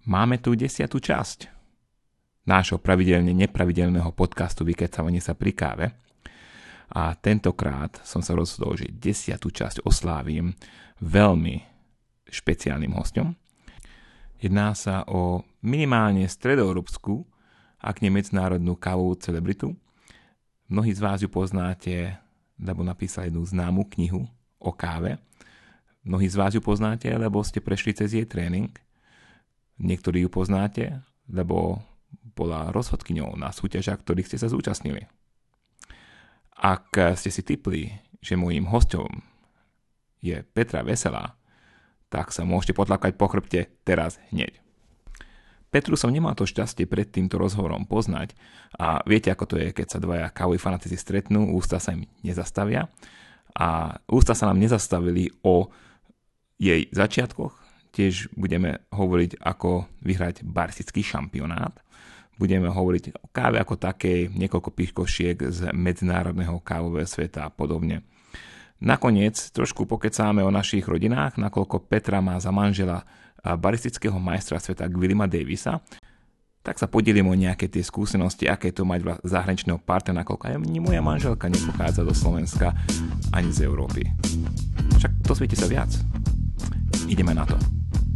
Máme tu 10. časť nášho pravidelne nepravidelného podcastu Vykecávanie sa pri káve. A tentokrát som sa rozhodol, že 10. časť oslávim veľmi špeciálnym hosťom. Jedná sa o minimálne stredoeurópsku, ak nie medzinárodnú kávovú celebritu. Mnohí z vás ju poznáte, lebo napísali jednu známú knihu o káve. Mnohí z vás ju poznáte, lebo ste prešli cez jej tréning. Niektorí ju poznáte, lebo bola rozhodkyňou na súťažiach, ktorých ste sa zúčastnili. Ak ste si tipli, že môjim hosťom je Petra Veselá, tak sa môžete potlakať po chrbte teraz hneď. Petru som nemal to šťastie pred týmto rozhovorom poznať a viete, ako to je, keď sa dvaja kávoví fanatici stretnú, ústa sa im nezastavia a ústa sa nám nezastavili o jej začiatkoch. Tiež budeme hovoriť, ako vyhrať baristický šampionát. Budeme hovoriť o káve ako takej, niekoľko píškošiek z medzinárodného kávového sveta a podobne. Nakoniec trošku pokecáme o našich rodinách, nakoľko Petra má za manžela baristického majstra sveta Willima Davisa. Tak sa podelím o nejaké tie skúsenosti, aké to mať zahraničného partnera, nakoľko ani moja manželka nepochádza do Slovenska ani z Európy. Však dozviete sa viac. Ideme na to.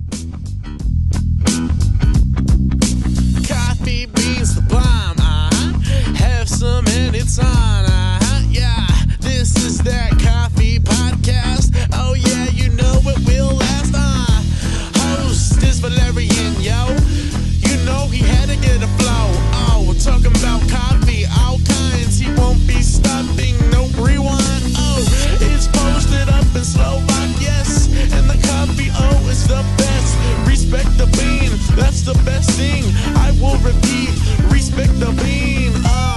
Coffee beans the bomb, have some and it's on, yeah, this is that coffee podcast, oh yeah, you know it will last, host is Valerian, yo, you know he had to get a flow, oh, we're talking about coffee, all kinds, he won't be stopping, no rewind, oh, it's posted up in Slovak, yes, and the coffee, oh, is the best, respect the bean, that's the best thing, I will repeat, respect the bean,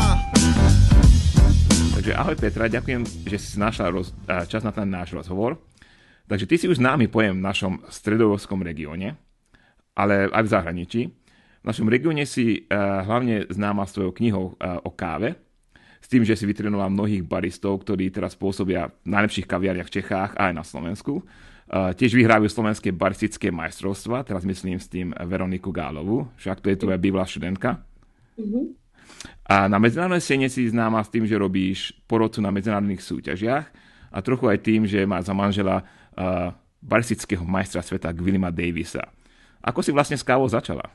Takže ahoj Petra, ďakujem, že si našla čas na ten náš rozhovor. Takže ty si už známy pojem v našom stredoeurópskom regióne, ale aj v zahraničí. V našom regióne si hlavne známa svojou knihou o káve, s tým, že si vytrénovala mnohých baristov, ktorí teraz pôsobia v najlepších kaviarniach v Čechách a aj na Slovensku. Tiež vyhrávajú slovenské baristické majstrovstvá, teraz myslím s tým Veroniku Gálovú, však to je tvoja bývalá študentka. Mm-hmm. A na medzinárodnej scéne si známa s tým, že robíš porodcu na medzinárodných súťažiach a trochu aj tým, že má za manžela baristického majstra sveta Willima Davisa. Ako si vlastne s kávou začala?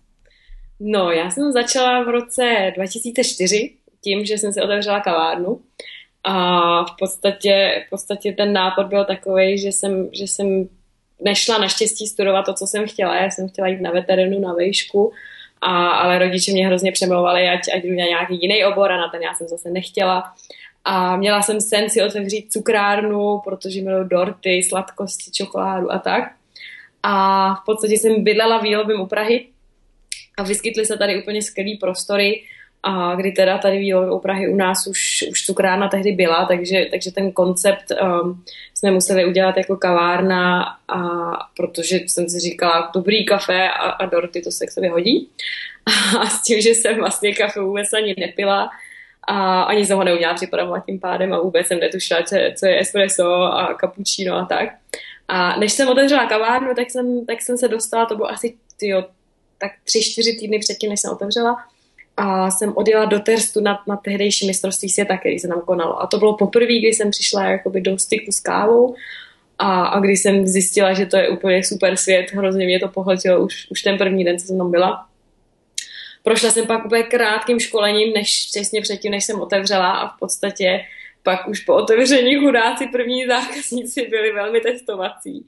No, já jsem začala v roce 2004 tím, že jsem si otevřela kavárnu. A v podstatě ten nápad byl takovej, že jsem nešla naštěstí studovat to, co jsem chtěla. Já jsem chtěla jít na veterinu, na vejšku, ale rodiče mě hrozně přemlouvali, ať jdu na nějaký jiný obor a na ten já jsem zase nechtěla. A měla jsem sen si otevřít cukrárnu, protože miluji dorty, sladkosti, čokoládu a tak. A v podstatě jsem bydlela v Jílovém u Prahy a vyskytly se tady úplně skvělý prostory, a kdy teda tady v u Prahy u nás už cukrárna tehdy byla, takže ten koncept jsme museli udělat jako kavárna, a protože jsem si říkala, dobrý kafe a dorty, to se k sobě hodí. A s tím, že jsem vlastně kafe vůbec ani nepila a ani jsem ho neuměla připravovat tím pádem a vůbec jsem netušila, co je espresso a cappuccino a tak. A než jsem otevřela kavárnu, tak jsem se dostala, to bylo asi tak 3-4 týdny předtím, než jsem otevřela, a jsem odjela do Terstu na tehdejší mistrovství světa, který se tam konalo. A to bylo poprvé, kdy jsem přišla jakoby do styku s kávou a kdy jsem zjistila, že to je úplně super svět, hrozně mě to pohltilo už ten první den, co jsem tam byla. Prošla jsem pak úplně krátkým školením, přesně předtím, než jsem otevřela, a v podstatě pak už po otevření chudáci první zákazníci byli velmi testovací.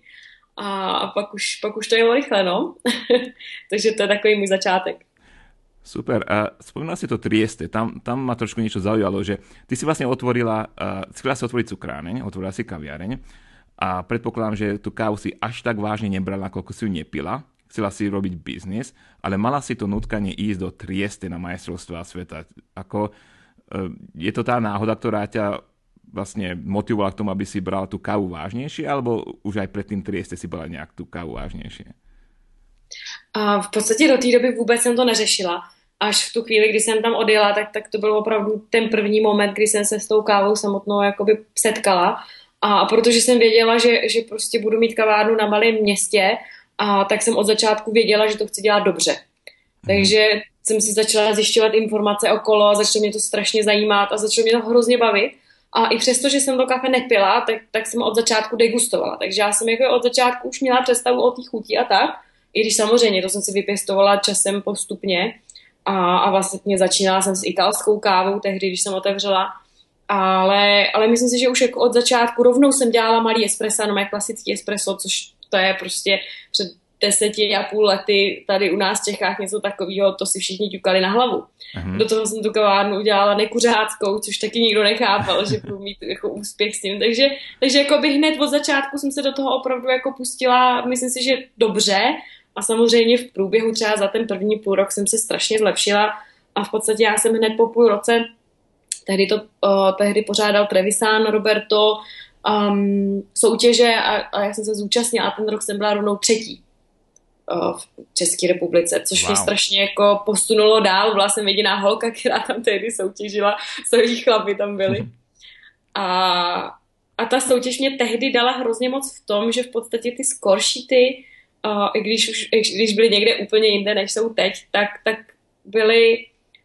A pak už to jelo rychle, no. Takže to je takový můj začátek. Super. A spomínala si to Trieste. Tam ma trošku niečo zaujalo, že ty si vlastne chcela si otvoriť cukráreň, otvorila si kaviareň a predpokladám, že tú kávu si až tak vážne nebrala, koľko si ju nepila. Chcela si robiť biznis, ale mala si to nutkanie ísť do Trieste na majstrovstvá sveta. Je to tá náhoda, ktorá ťa vlastne motivovala k tomu, aby si bral tú kávu vážnejšie, alebo už aj pred tým Trieste si brala nejak tú kávu vážnejšie? A v podstatě do té doby vůbec jsem to neřešila. Až v tu chvíli, kdy jsem tam odjela, tak to byl opravdu ten první moment, kdy jsem se s tou kávou samotnou jakoby setkala. A protože jsem věděla, že prostě budu mít kavárnu na malém městě a tak jsem od začátku věděla, že to chci dělat dobře. Takže jsem si začala zjišťovat informace okolo, začalo mě to strašně zajímat a začalo mě to hrozně bavit. A i přesto, že jsem to kafe nepila, tak jsem od začátku degustovala. Takže já jsem jako od začátku už měla představu o té chuti a tak. I když samozřejmě to jsem si vypěstovala časem postupně. A vlastně začínala jsem s italskou kávou tehdy, když jsem otevřela. Ale myslím si, že už jako od začátku rovnou jsem dělala malý espresso, no klasický espresso, což to je prostě před 10,5 lety tady u nás v Čechách něco takového, to si všichni ťukali na hlavu. Do toho jsem tu kavárnu udělala nekuřáckou, což taky nikdo nechápal, že budu mít jako úspěch s tím. Takže jako by hned od začátku jsem se do toho opravdu jako pustila, myslím si, že dobře. A samozřejmě v průběhu třeba za ten první půl rok jsem se strašně zlepšila a v podstatě já jsem hned po půl roce, tehdy pořádal Trevisan Roberto soutěže a já jsem se zúčastnila a ten rok jsem byla rovnou 3. v České republice, což mě strašně jako posunulo dál. Byla jsem jediná holka, která tam tehdy soutěžila, celý chlapi tam byli. A ta soutěž mě tehdy dala hrozně moc v tom, že v podstatě ty score sheety, i když byly někde úplně jinde, než jsou teď, tak byly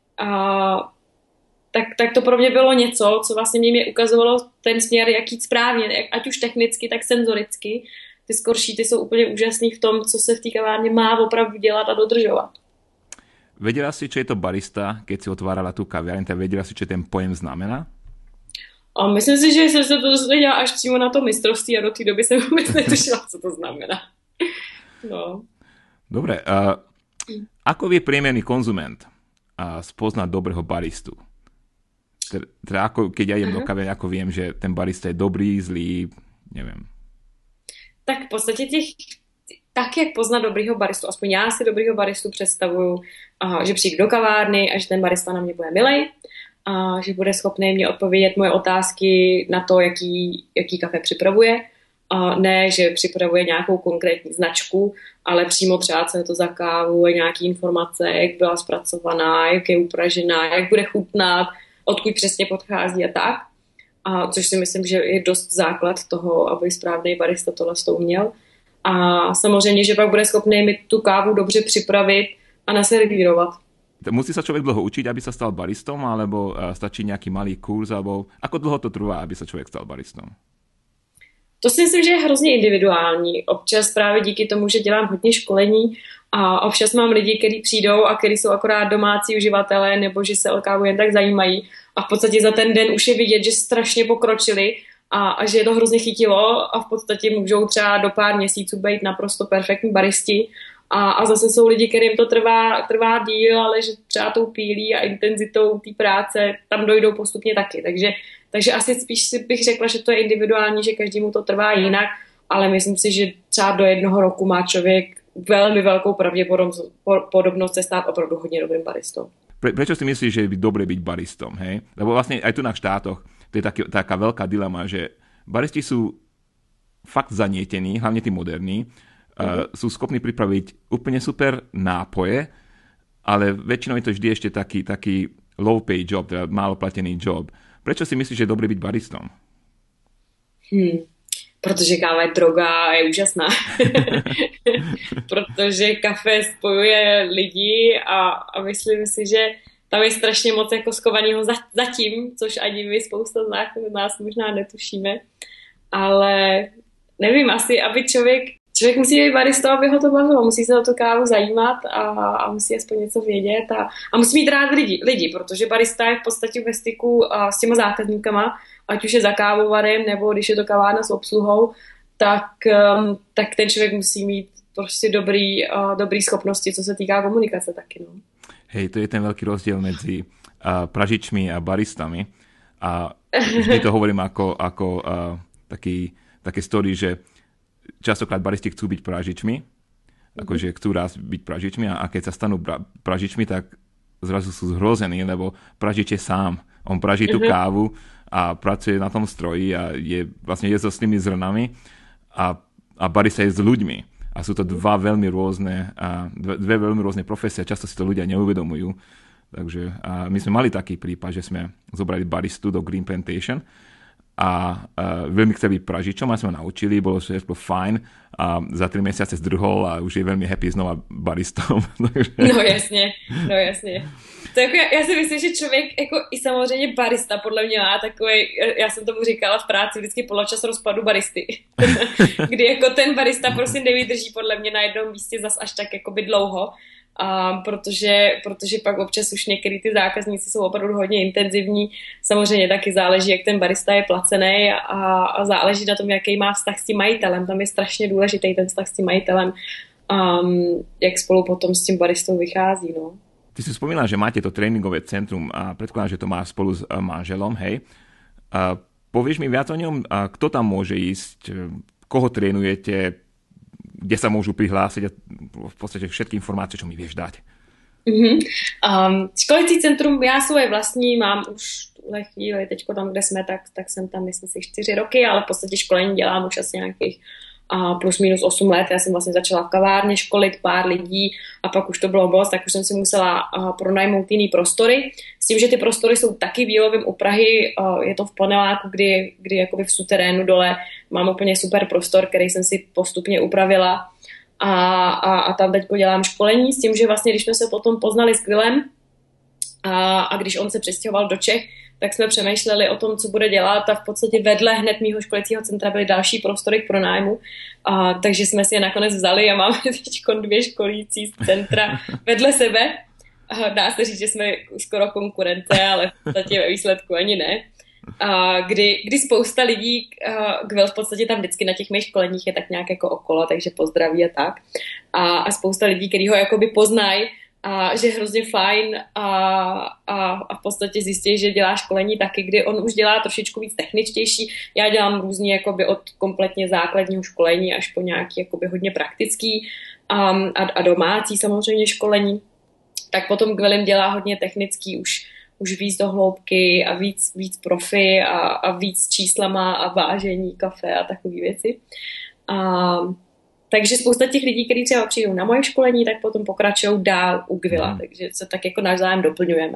tak to pro mě bylo něco, co vlastně mě ukazovalo ten směr, jak jít správně, ať už technicky, tak senzoricky. Ty score sheety jsou úplně úžasný v tom, co se v té kavárně má opravdu dělat a dodržovat. Vedela si, čo je to barista, keď si otvárala tú kaviareň, tak vedela si, čo ten pojem znamená? A myslím si, že jsem se to dozvěděla až přímo na to mistrovství a do té doby jsem vůbec netušila, co to znamená. No. Dobre, ako vie priemerný konzument spoznať dobrého baristu? Teda ako, keď ja idem do kaviareň, ako viem, že ten barista je dobrý, zlý, neviem. Tak v podstatě tak, jak poznat dobrýho baristu, aspoň já si dobrýho baristu představuju, že přijdu do kavárny a že ten barista na mě bude milej, a že bude schopný mě odpovědět moje otázky na to, jaký kafe připravuje. A ne, že připravuje nějakou konkrétní značku, ale přímo třeba, co je to za kávu, nějaké informace, jak byla zpracovaná, jak je upražená, jak bude chutnat, odkud přesně podchází a tak. A což si myslím, že je dost základ toho, aby správný barista tohle uměl. A samozřejmě, že pak bude schopný mi tu kávu dobře připravit a naservírovat. Musí sa človek dlho učiť, aby sa stal baristom, alebo stačí nejaký malý kurz, alebo ako dlho to trvá, aby sa človek stal baristom? To si myslím, že je hrozně individuální. Občas právě díky tomu, že dělám hodně školení a občas mám lidi, kteří přijdou a kteří jsou akorát domácí uživatelé nebo že se o kávu jen tak zajímají a v podstatě za ten den už je vidět, že strašně pokročili a že je to hrozně chytilo a v podstatě můžou třeba do pár měsíců být naprosto perfektní baristi a zase jsou lidi, kterým to trvá díl, ale že třeba tou pílí a intenzitou té práce tam dojdou postupně taky. Takže asi spíš bych řekla, že to je individuální, že každému to trvá jinak, ale myslím si, že třeba do 1 roku má člověk velmi velkou pravděpodobnost se stát opravdu hodně dobrým baristou. Prečo si myslíš, že je dobre byť baristom? Hej? Lebo vlastne aj tu na štátoch to je taká veľká dilema, že baristi sú fakt zanietení, hlavne tí moderní, sú schopní pripraviť úplne super nápoje, ale väčšinou je to vždy ešte taký low pay job, teda málo platený job. Prečo si myslíš, že je dobré byť baristom? Protože káva je droga a je úžasná. Protože kafe spojuje lidi a myslím si, že tam je strašně moc jako skovaného zatím, což ani my spousta z nás možná netušíme. Ale nevím, asi, aby člověk musí být baristou, aby ho to bavilo. Musí se o tu kávu zajímat a musí aspoň něco vědět a musí mít rád lidi, protože barista je v podstatě ve styku s těma zákazníkama, ať už je za kávovarem, nebo když je to kavárna s obsluhou, tak ten člověk musí mít prostě dobrý schopnosti, co se týká komunikace taky. No. Hej, to je ten veľký rozdiel medzi pražičmi a baristami. A vždy to hovorím ako také story, že častokrát baristi chcú byť pražičmi, akože chcú raz byť pražičmi a keď sa stanú pražičmi, tak zrazu sú zhrození, lebo pražič je sám. On praží tú kávu a pracuje na tom stroji a je so s tými zrnami a barista je s ľuďmi. A sú to dve veľmi rôzne profesie, často si to ľudia neuvedomujú. Takže my sme mali taký prípad, že sme zobrali baristu do Green Plantation a veľmi chcel byť pražičom a sme ho naučili, bolo všetko fajn a za 3 mesiace zdrhol a už je veľmi happy znova baristom. No jasně. To jako, já si myslím, že člověk jako i samozřejmě barista podle mě má takový, já jsem tomu říkala v práci vždycky poločas rozpadu baristy, kdy jako ten barista prostě nevydrží podle mě na jednom místě zas až tak jakoby dlouho, protože pak občas už některý ty zákazníci jsou opravdu hodně intenzivní. Samozřejmě taky záleží, jak ten barista je placený a záleží na tom, jaký má vztah s tím majitelem. Tam je strašně důležitý ten vztah s tím majitelem, jak spolu potom s tím baristou vychází, no. Ty si spomínala, že máte to tréningové centrum a predpokladám, že to má spolu s manželom, hej. Povieš mi viac o ňom? Kto tam môže ísť? Koho trénujete? Kde sa môžu prihlásiť? V podstate všetky informácie, čo mi vieš dať. Školicí centrum já svoje vlastní mám už v tuhle chvíli, teďko tam, kde jsme, tak jsem tam myslím si 4 roky, ale v podstatě školení dělám už asi nějakých plus minus 8 let. Já jsem vlastně začala v kavárně školit pár lidí a pak už to bylo moc, tak už jsem si musela pronajmout jiný prostory. S tím, že ty prostory jsou taky v Jílovém u Prahy, je to v paneláku, kdy jakoby v suterénu dole mám úplně super prostor, který jsem si postupně upravila a tam teďko dělám školení s tím, že vlastně když jsme se potom poznali s Quillem a když on se přestěhoval do Čech, tak jsme přemýšleli o tom, co bude dělat a v podstatě vedle hned mýho školicího centra byly další prostory k pronájmu, takže jsme si je nakonec vzali a máme teď 2 školící centra vedle sebe. Dá se říct, že jsme skoro konkurence, ale v podstatě ve výsledku ani ne. Kdy spousta lidí, Quill v podstatě tam vždycky na těch mých školeních je tak nějak jako okolo, takže pozdraví a tak. A spousta lidí, kteří ho jakoby poznají, a že je hrozně fajn a v podstatě zjistí, že dělá školení taky, kdy on už dělá trošičku víc techničtější. Já dělám různě jakoby od kompletně základního školení až po nějaký jakoby hodně praktický a domácí samozřejmě školení. Tak potom Quillem dělá hodně technický, už víc do hloubky a víc profi a víc číslama a vážení kafe a takové věci. Takže spousta těch lidí, kteří třeba přijdou na moje školení, tak potom pokračují dál u Quilla, takže se tak jako navzájem doplňujeme.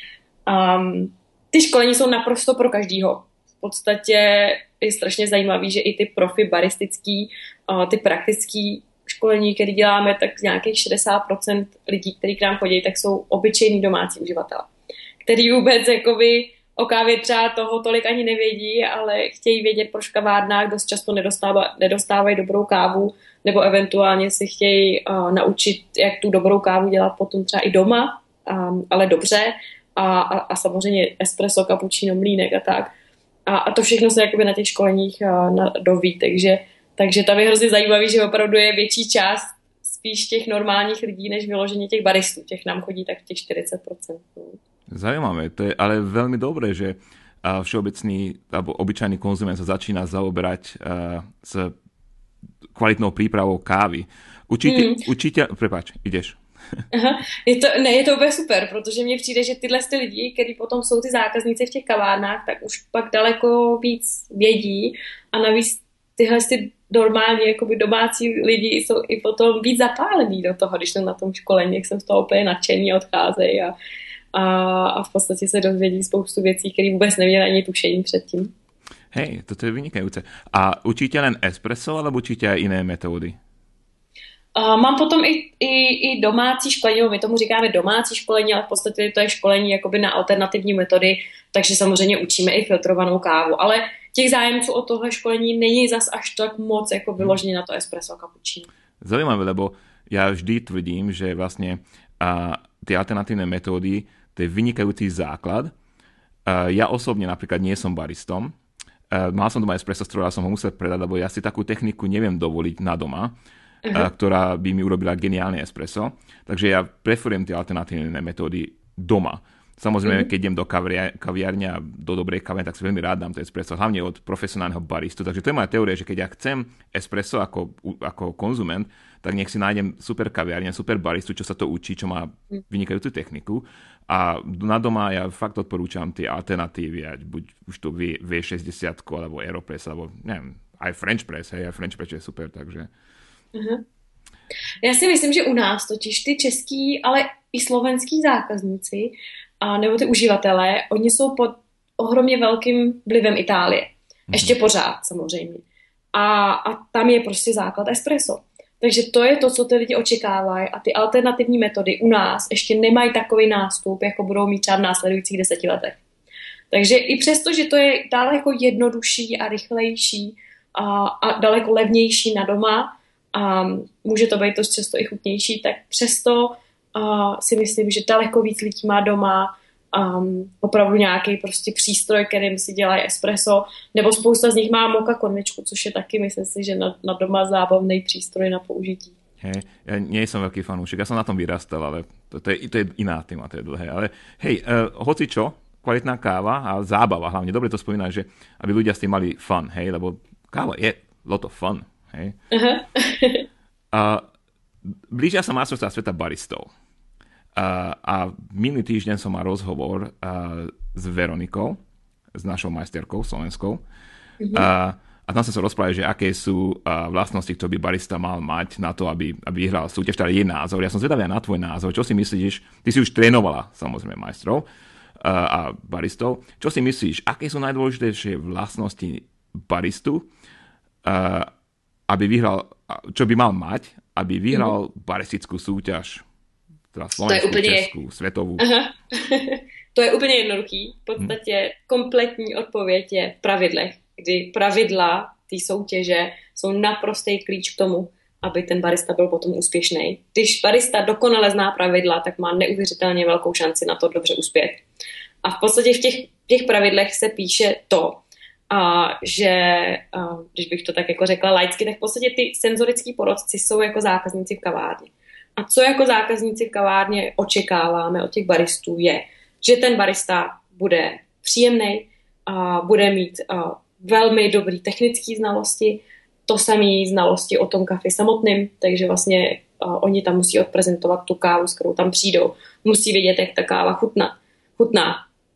Ty školení jsou naprosto pro každýho. V podstatě je strašně zajímavý, že i ty profi baristický, ty praktický školení, které děláme, tak nějakých 60% lidí, kteří k nám chodí, tak jsou obyčejní domácí uživatelé, který vůbec jakoby o kávě třeba toho tolik ani nevědí, ale chtějí vědět, proč v kavárnách dost často nedostávají dobrou kávu, nebo eventuálně si chtějí naučit, jak tu dobrou kávu dělat potom třeba i doma, ale dobře. A samozřejmě espresso, cappuccino, mlýnek a tak. A to všechno se jakoby na těch školeních doví, takže tam je hrozně zajímavý, že opravdu je větší část spíš těch normálních lidí, než vyloženě těch baristů. Těch nám chodí tak těch 40%. Zaujímavé, to je ale veľmi dobré, že všeobecný alebo obyčajný konzument sa začína zaoberať s kvalitnou prípravou kávy. Prepáč, ideš. Aha, je to úplně super, protože mně přijde, že tyhle lidi, kteří potom jsou ty zákazníci v těch kavárnách, tak už pak daleko víc vědí a navíc tyhle normálně jakoby domácí lidi jsou i potom víc zapálení do toho, když jsem na tom školení, jak jsem z toho úplně nadšení a odcházejí a v podstatě se dozvědí spoustu věcí, které vůbec neměli ani tušení předtím. Hej, toto je vynikajúce. A učíte len espresso, alebo učíte aj iné metódy? Mám potom i domácí školení, my tomu říkáme domácí školení, ale v podstatě to je školení jakoby na alternativní metody, takže samozřejmě učíme i filtrovanou kávu, ale těch zájemců o tohle školení není zas až tak moc jako vyloženě na to espresso a cappuccino. Zaujímavé, lebo ja vždy tvrdím, že vlastne tie alternatívne metódy, to je vynikajúci základ. Ja osobne napríklad nie som baristom, mal som doma espresso stroj, ale som ho musel predať, lebo ja si takú techniku neviem dovoliť na doma, ktorá by mi urobila geniálne espresso. Takže ja preferujem tie alternatívne metódy doma. Samozrejme, keď idem do kaviarne a do dobrej kavárne, tak si veľmi rád dám to espresso, hlavne od profesionálneho baristu. Takže to je moja teória, že keď ja chcem espresso ako konzument, tak nech si nájdem super kaviarne, super baristu, čo sa to učí, čo má vynikajúcu techniku. A na doma ja fakt odporúčam tie alternatívy, buď už to V60 alebo Aeropress, alebo neviem, aj French Press, aj French Press je super, takže... Já si myslím, že u nás totiž ty český, ale i slovenský zákazníci nebo ty uživatelé, oni jsou pod ohromně velkým vlivem Itálie. Ještě pořád samozřejmě. A tam je prostě základ espresso. Takže to je to, co ty lidi očekávají a ty alternativní metody u nás ještě nemají takový nástup, jako budou mít třeba v následujících 10 letech. Takže i přesto, že to je daleko jednodušší a rychlejší a daleko levnější na doma a může to být to často i chutnější, tak přesto si myslím, že daleko víc lidí má doma opravdu nějaký prostě přístroj, kterým si dělají espresso, nebo spousta z nich má moka konvičku, což je taky, myslím si, že na doma zábavný přístroj na použití. Hej, ja nie som veľký fanúšik, ja som na tom vyrastal, ale to je iná téma, to je dlhé. Ale hej, hoci čo, kvalitná káva a zábava, hlavne dobre to spomínaš, že aby ľudia s tým mali fun, hej, lebo káva je lot of fun, hej. Blížia sa majstrovstvá sveta baristov. A minulý týždeň som mal rozhovor s Veronikou, s našou majsterkou slovenskou. A tam sa rozprávali, že aké sú vlastnosti, ktoré by barista mal mať na to, aby vyhral súťaž, teda je názor. Ja som zvedavý na tvoj názor. Čo si myslíš? Ty si už trénovala samozrejme majstrov a baristov. Čo si myslíš? Aké sú najdôležitejšie vlastnosti baristu, aby vyhral, čo by mal mať, aby vyhral baristickú súťaž? Teda slovenskou, českou, svetovou. Aha. To je úplně jednoduchý. V podstatě kompletní odpověď je v pravidlech, kdy pravidla té soutěže jsou naprostý klíč k tomu, aby ten barista byl potom úspěšný. Když barista dokonale zná pravidla, tak má neuvěřitelně velkou šanci na to dobře uspět. A v podstatě v těch pravidlech se píše to, že, když bych to tak jako řekla laicky, tak v podstatě ty senzorický porodci jsou jako zákazníci v kavárně. A co jako zákazníci v kavárně očekáváme od těch baristů je, že ten barista bude příjemný, bude mít velmi dobrý technické znalosti, to samé znalosti o tom kafi samotným, takže vlastně oni tam musí odprezentovat tu kávu, s kterou tam přijdou. Musí vědět, jak ta káva chutná.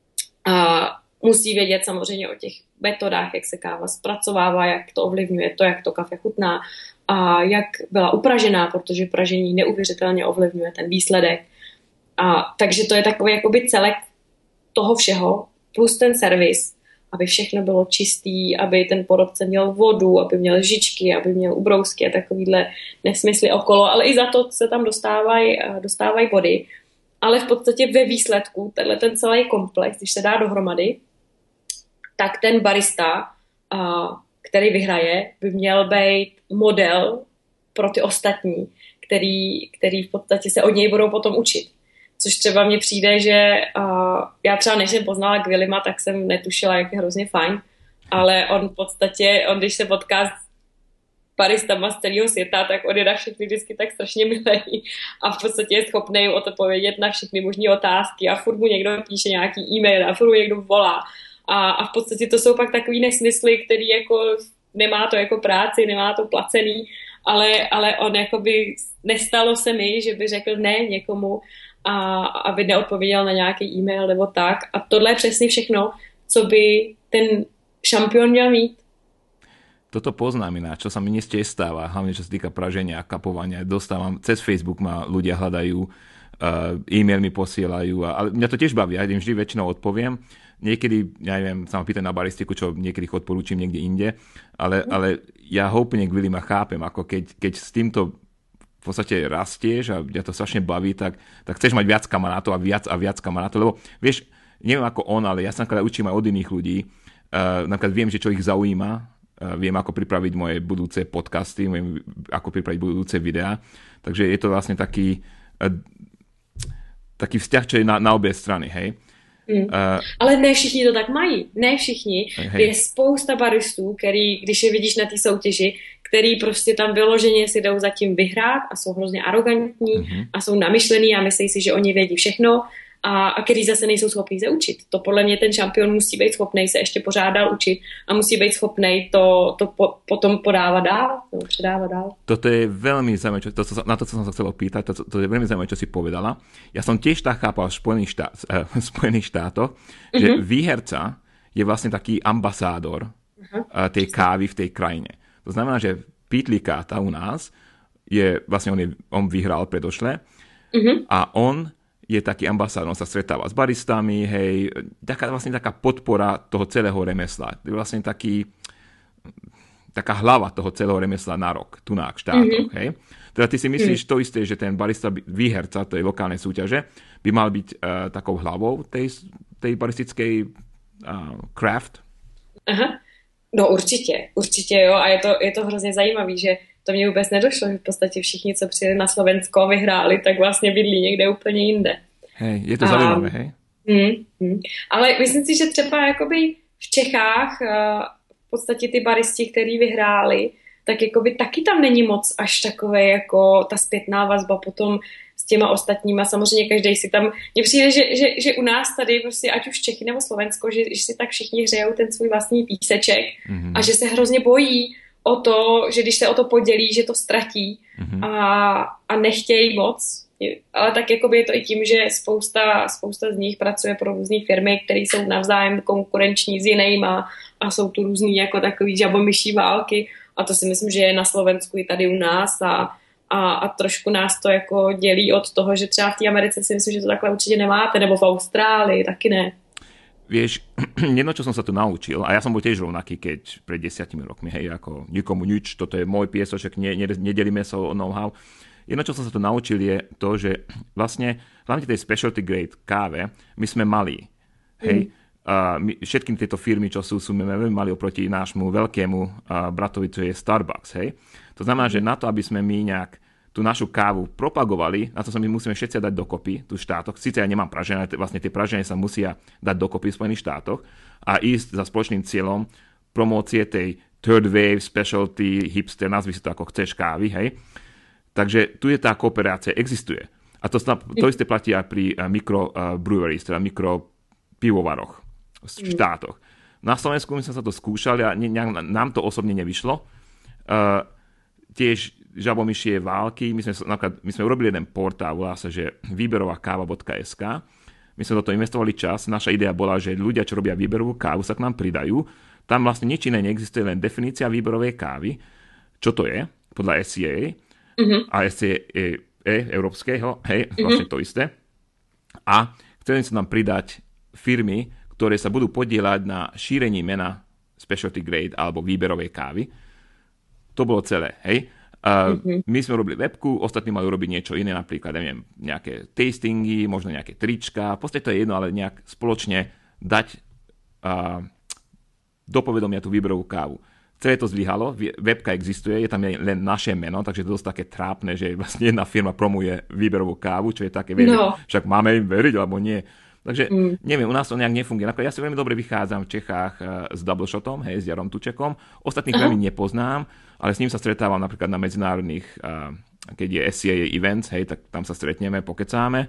Musí vědět samozřejmě o těch metodách, jak se káva zpracovává, jak to ovlivňuje to, jak to kafe chutná a jak byla upražená, protože pražení neuvěřitelně ovlivňuje ten výsledek. Takže to je takový jakoby celek toho všeho, plus ten servis, aby všechno bylo čistý, aby ten porodce měl vodu, aby měl žičky, aby měl ubrousky a takovýhle nesmysly okolo, ale i za to se tam dostávají body. Ale v podstatě ve výsledku, ten celý komplex, když se dá dohromady, tak ten barista, který vyhraje, by měl být model pro ty ostatní, který v podstatě se od něj budou potom učit. Což třeba mně přijde, že já třeba než jsem poznala Gwilima, tak jsem netušila, jak je hrozně fajn, ale on v podstatě, když se potká s baristama z celého světa, tak on je na všechny vždycky tak strašně milý a v podstatě je schopný odpovědět na všechny možné otázky a furt mu někdo píše nějaký e-mail a furt mu někdo volá a v podstatě to jsou pak takový nesmysly, který jako nemá to jako práci, nemá to placený, ale on jakoby nestalo se mi, že by řekl ne někomu a aby neodpověděl na nějaký e-mail nebo tak. A tohle je přesně všechno, co by ten šampión měl mít. Toto poznám ináč, čo sa mi tiež stáva, hlavne čo sa týka praženia a kapovania. Dostávam, cez Facebook ma ľudia hľadajú, e-mail mi posielajú, ale mňa to tiež baví, ja im vždy väčšinou odpoviem. Niekedy, ja neviem, sa ma pýtajú na baristiku, čo niekedy ich odporúčim niekde inde, ale ja ho úplne Gwilima chápem, ako keď s týmto v podstate rastieš a mňa to strašne baví, tak chceš mať viac kamarátov a viac kamarátov, lebo vieš, neviem ako on, ale ja sa napríklad učím aj od iných ľudí, napríklad viem, že čo ich zaujíma, viem, ako pripraviť moje budúce podcasty, viem, ako pripraviť budúce videá, takže je to vlastne taký vzťah, čo je na obě strany, hej. Ale ne všichni to tak mají, ne všichni. Je spousta baristů, který, když je vidíš na té soutěži, který prostě tam vyloženě si jdou zatím vyhrát a jsou hrozně arrogantní a jsou namyšlený a myslí si, že oni vědí všechno a který zase nejsou schopní se učit. To podle mě ten šampion musí být schopný se ještě pořád dál učit a musí být schopný to potom podávat dál, nebo předávat dál. Toto je veľmi zaujímavé, na to, co som sa chcel opýtať, to je veľmi zaujímavé, čo si povedala. Ja som tiež tak chápal v Spojených štátoch, že výherca je vlastne taký ambasádor tej kávy v tej krajine. To znamená, že Pete Licata u nás je, vlastne on vyhral predošle a on je taký ambasádor, on sa stretáva s baristami, hej, vlastne taká podpora toho celého remesla. Je vlastne taká hlava toho celého remesla na rok, tu na štátoch, hej. Teda ty si myslíš to isté, že ten barista výherca tej lokálnej súťaže by mal byť takou hlavou tej baristickej craft? Aha. No určitě jo, a je to hrozně zajímavý, že to mě vůbec nedošlo, že v podstatě všichni, co přijeli na Slovensko a vyhráli, tak vlastně bydlí někde úplně jinde. Hej, je to zajímavé, hej? Ale myslím si, že třeba jakoby v Čechách v podstatě ty baristi, který vyhráli, tak jakoby taky tam není moc až takové jako ta zpětná vazba potom s těma ostatníma. Samozřejmě každý si tam... Mně přijde, že u nás tady prostě ať už Čechy nebo Slovensko, že si tak všichni hřejou ten svůj vlastní píseček a že se hrozně bojí o to, že když se o to podělí, že to ztratí a nechtějí moc. Ale tak jakoby je to i tím, že spousta z nich pracuje pro různé firmy, které jsou navzájem konkurenční s jinýma a jsou tu různý jako takový žabomyší války. A to si myslím, že je na Slovensku i tady u nás a trošku nás to jako dělí od toho, že třeba v té Americe si myslím, že to takhle určitě nemáte, nebo v Austrálii taky ne. Vieš, jedno, čo som sa tu naučil, a ja som bol tiež rovnaký, keď pred 10 rokmi, hej, ako nikomu nič, toto je môj piesoček, nedelíme sa o know-how. Jedno, čo som sa tu naučil, je to, že vlastne, hlavne tej specialty grade káve, my sme malí, hej. Všetkým tieto firmy, čo sú veľmi mali oproti nášmu veľkému bratovi, čo je Starbucks, hej. To znamená, že na to, aby sme my nejak tú našu kávu propagovali, na to sa my musíme všetci dať dokopy tu v štátoch. Sice ja nemám pražené, ale vlastne tie pražené sa musia dať dokopy v Spojených štátoch a ísť za spoločným cieľom promócie tej third wave, specialty, hipster, nazvi si to ako chceš kávy, hej. Takže tu je tá kooperácia, existuje. A to isté platí aj pri microbreweries, teda mikropivovaroch v štátoch. Na Slovensku my sme sa to skúšali a nám to osobne nevyšlo. Tiež žabomyšie války. My sme urobili jeden portál, volá sa, že výberovakáva.sk. My sme do toho investovali čas. Naša idea bola, že ľudia, čo robia výberovú kávu, sa k nám pridajú. Tam vlastne nič iné neexistuje, len definícia výberovej kávy. Čo to je? Podľa SCA. A SCA európskeho. Hej, vlastne to isté. A chceli sa nám pridať firmy, ktoré sa budú podieľať na šírení mena specialty grade alebo výberovej kávy. To bolo celé, hej. My sme robili webku, ostatní mali robiť niečo iné, napríklad, neviem, nejaké tastingy, možno nejaké trička, v podstate to je jedno, ale nejak spoločne dať do povedomia tú výberovú kávu. Celé to zlyhalo, webka existuje, je tam len naše meno, takže to je dosť také trápne, že vlastne jedna firma promuje výberovú kávu, čo je také, však máme im veriť, alebo nie. Takže neviem, u nás to nejak nefunguje. Napríklad ja si veľmi dobre vychádzam v Čechách s Double Shotom, hej, s Jarom Tučekom. Ostatných veľmi nepoznám, ale s ním sa stretávam napríklad na medzinárodných, keď je SCA events, hej, tak tam sa stretneme, pokecáme.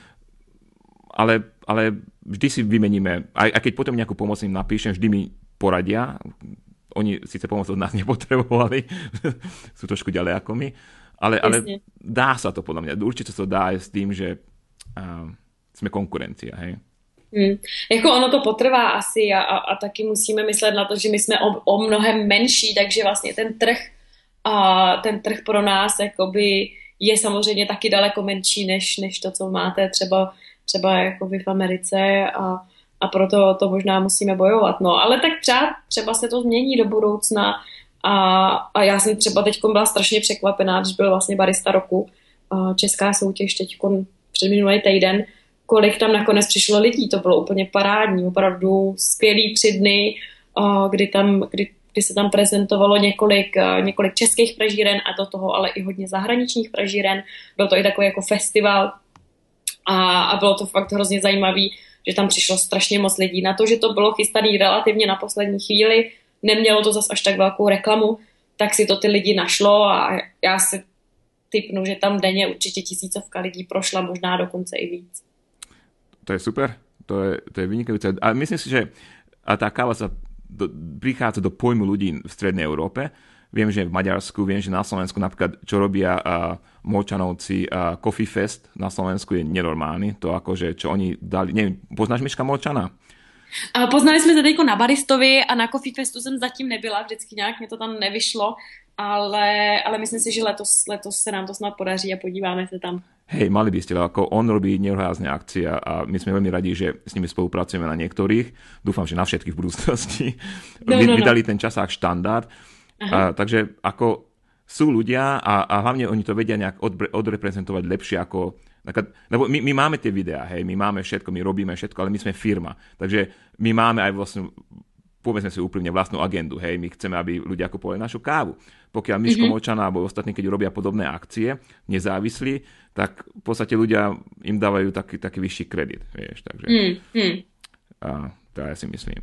Ale vždy si vymeníme, aj keď potom nejakú pomoc im napíšem, vždy mi poradia. Oni síce pomoc od nás nepotrebovali, sú trošku ďalej ako my, ale dá sa to podľa mňa. Určite sa to dá aj s tým, že jsme konkurencia, hej. Jako ono to potrvá asi a taky musíme myslet na to, že my jsme o mnohem menší, takže vlastně ten trh pro nás jakoby je samozřejmě taky daleko menší než to, co máte třeba jakoby v Americe a proto to možná musíme bojovat. No, ale tak třeba se to změní do budoucna a já jsem třeba teďkom byla strašně překvapená, když byl vlastně barista roku česká soutěž teďkom předminulý týden, kolik tam nakonec přišlo lidí, to bylo úplně parádní, opravdu skvělý 3 dny, kdy se tam prezentovalo několik českých pražíren a do toho ale i hodně zahraničních pražíren, byl to i takový jako festival a bylo to fakt hrozně zajímavý, že tam přišlo strašně moc lidí. Na to, že to bylo chystané relativně na poslední chvíli, nemělo to zas až tak velkou reklamu, tak si to ty lidi našlo a já si typnu, že tam denně určitě 1000 lidí prošla, možná dokonce i víc. To je super, to je vynikajúce. A myslím si, že tá káva sa prichádza do pojmu ľudí v Strednej Európe. Viem, že v Maďarsku, viem, že na Slovensku napríklad, čo robia Molčanovci, Coffee Fest na Slovensku je nenormálny. To akože, čo oni dali, neviem, poznáš Miška Molčana? Poznali jsme se teďko na Baristovi a na Coffee Festu jsem zatím nebyla, vždycky nějak mě to tam nevyšlo, ale myslím si, že letos se nám to snad podaří a podíváme se tam. Hej, mali by ste, ako on robí nehorázne akcie a my sme veľmi radi, že s nimi spolupracujeme na niektorých. Dúfam, že na všetkých v budúcnosti. Vydali ten časák štandard. Takže ako sú ľudia a hlavne oni to vedia nejak odreprezentovať lepšie ako... Lebo my máme tie videá, hej, my máme všetko, my robíme všetko, ale my sme firma. Takže my máme aj vlastne, povedzme si úprimne, vlastnú agendu, hej, my chceme, aby ľudia kupovali našu kávu. Pokiaľ Miško Močana alebo ostatní, keď robia podobné akcie, nezávislí, tak v podstate ľudia im dávajú taký vyšší kredit, vieš, takže to ja si myslím.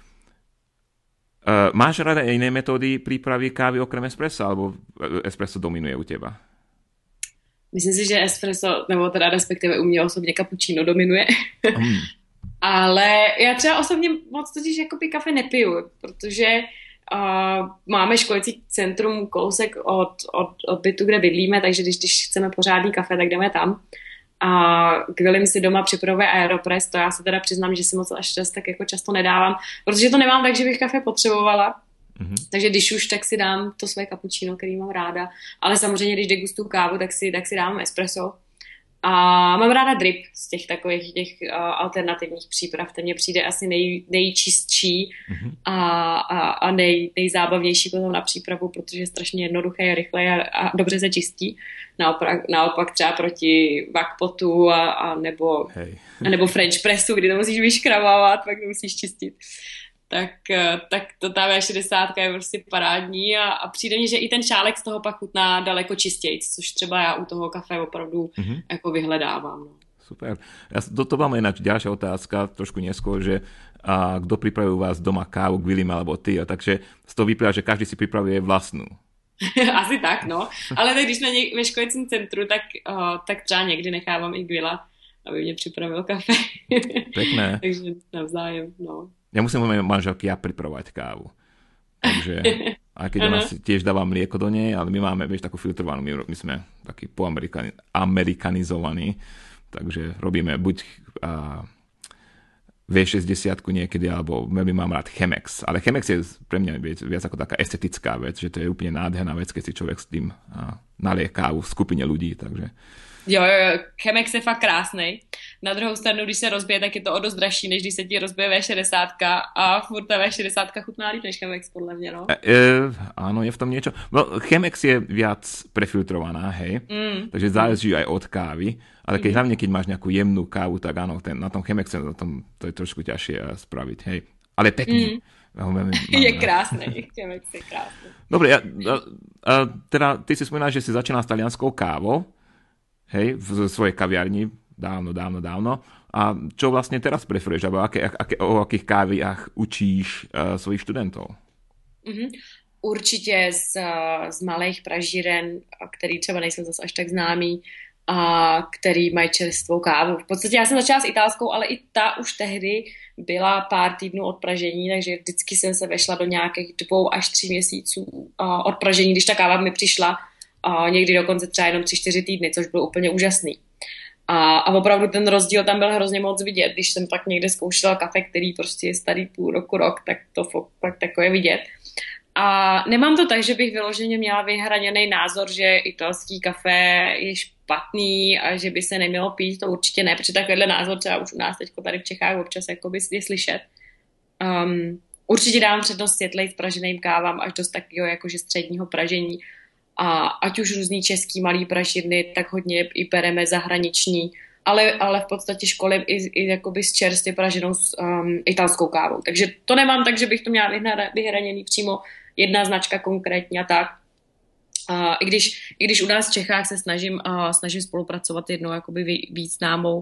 Máš rada iné metódy prípravy kávy okrem espressa, alebo espresso dominuje u teba? Myslím si, že espresso, nebo teda respektive u mě osobně cappuccino dominuje. Ale já třeba osobně moc totiž jakoby kafe nepiju, protože máme školicí centrum kousek od bytu, kde bydlíme, takže když chceme pořádný kafe, tak jdeme tam. A Gwilym si doma připravuje Aeropress, to já se teda přiznám, že si moc až tak jako často nedávám, protože to nemám tak, že bych kafe potřebovala. Takže když už, tak si dám to své cappuccino, který mám ráda. Ale samozřejmě, když degustuju kávu, tak si dám espresso. A mám ráda drip z těch takových alternativních příprav. Ten mě přijde asi nejčistší a nejzábavnější potom na přípravu, protože je strašně jednoduché, rychle a dobře se čistí. Naopak třeba proti vakpotu nebo French pressu, kdy to musíš vyškramávat, pak to musíš čistit. Tak to ta V60 je prostě parádní a přijde mně, že i ten šálek z toho pak chutná daleko čistějc, což třeba já u toho kafe opravdu jako vyhledávám. No. Super. Do toho máme ináč ďalšia otázka, trošku neskôr, že kto pripravuje u vás doma kávu, Gwilym alebo ty, takže z toho vyplýva, že každý si pripravuje vlastnú. Asi tak, no. Ale tak když jsme ve školicím centru, tak třeba někdy nechávám i Gwila, aby mě připravil kafe. Pekné. Takže navzájem, no. Ja musím mojej manželky pripravovať kávu. Takže, aj keď ona si tiež dáva mlieko do nej, ale my máme, vieš, takú filtrovanú, my sme takí poamerikanizovaní, takže robíme buď V60 niekedy, alebo veľmi mám rád Chemex. Ale Chemex je pre mňa viac ako taká estetická vec, že to je úplne nádherná vec, keď si človek s tým nalie kávu v skupine ľudí, takže... Jo, Chemex je fakt krásnej. Na druhou stranu, když se rozbije, tak je to o dost dražší, než když se ti rozbije V60 a furt ta V60 chutná líp než Chemex, podle mě, no. Áno, je v tom niečo. No, Chemex je viac prefiltrovaná, hej, takže záleží aj od kávy, ale hlavne keď máš nejakú jemnú kávu, tak áno, na tom Chemexe to je trošku ťažšie spraviť, hej. Ale pekný. Je krásnej, Chemex je krásný. Dobre, teda ty si spomínal, že si začínal s talianskou kávou, hej, v svojej kaviarni, dávno. A čo vlastne teraz preferuješ? Alebo o akých káviach učíš svojich študentov? Určitě z malých pražíren, který třeba nejsou zase až tak známý, a který mají čerstvou kávu. V podstatě já jsem začala s italskou, ale i ta už tehdy byla pár týdnů od pražení, takže vždycky jsem se vešla do nějakých 2 až 3 měsíců od pražení, když ta káva mi přišla, někdy dokonce třeba jenom 3-4 týdny, což bylo úplně úžasný. A opravdu ten rozdíl tam byl hrozně moc vidět. Když jsem tak někde zkoušela kafe, který prostě je starý půl roku, rok, tak to fakt takové vidět. A nemám to tak, že bych vyloženě měla vyhraněný názor, že italský kafe je špatný a že by se nemělo pít, to určitě ne, protože takovýhle názor třeba už u nás teď tady v Čechách občas jakoby je slyšet. Určitě dám přednost světlej spraženým kávám až dost takového jakože středního pražení. A ať už různý český malý pražírny, tak hodně i bereme zahraniční, ale v podstatě školím i jakoby s čerstvě praženou italskou kávou. Takže to nemám tak, že bych to měla vyhraněný přímo jedna značka konkrétně a tak. I když u nás v Čechách se snažím spolupracovat jednou jakoby víc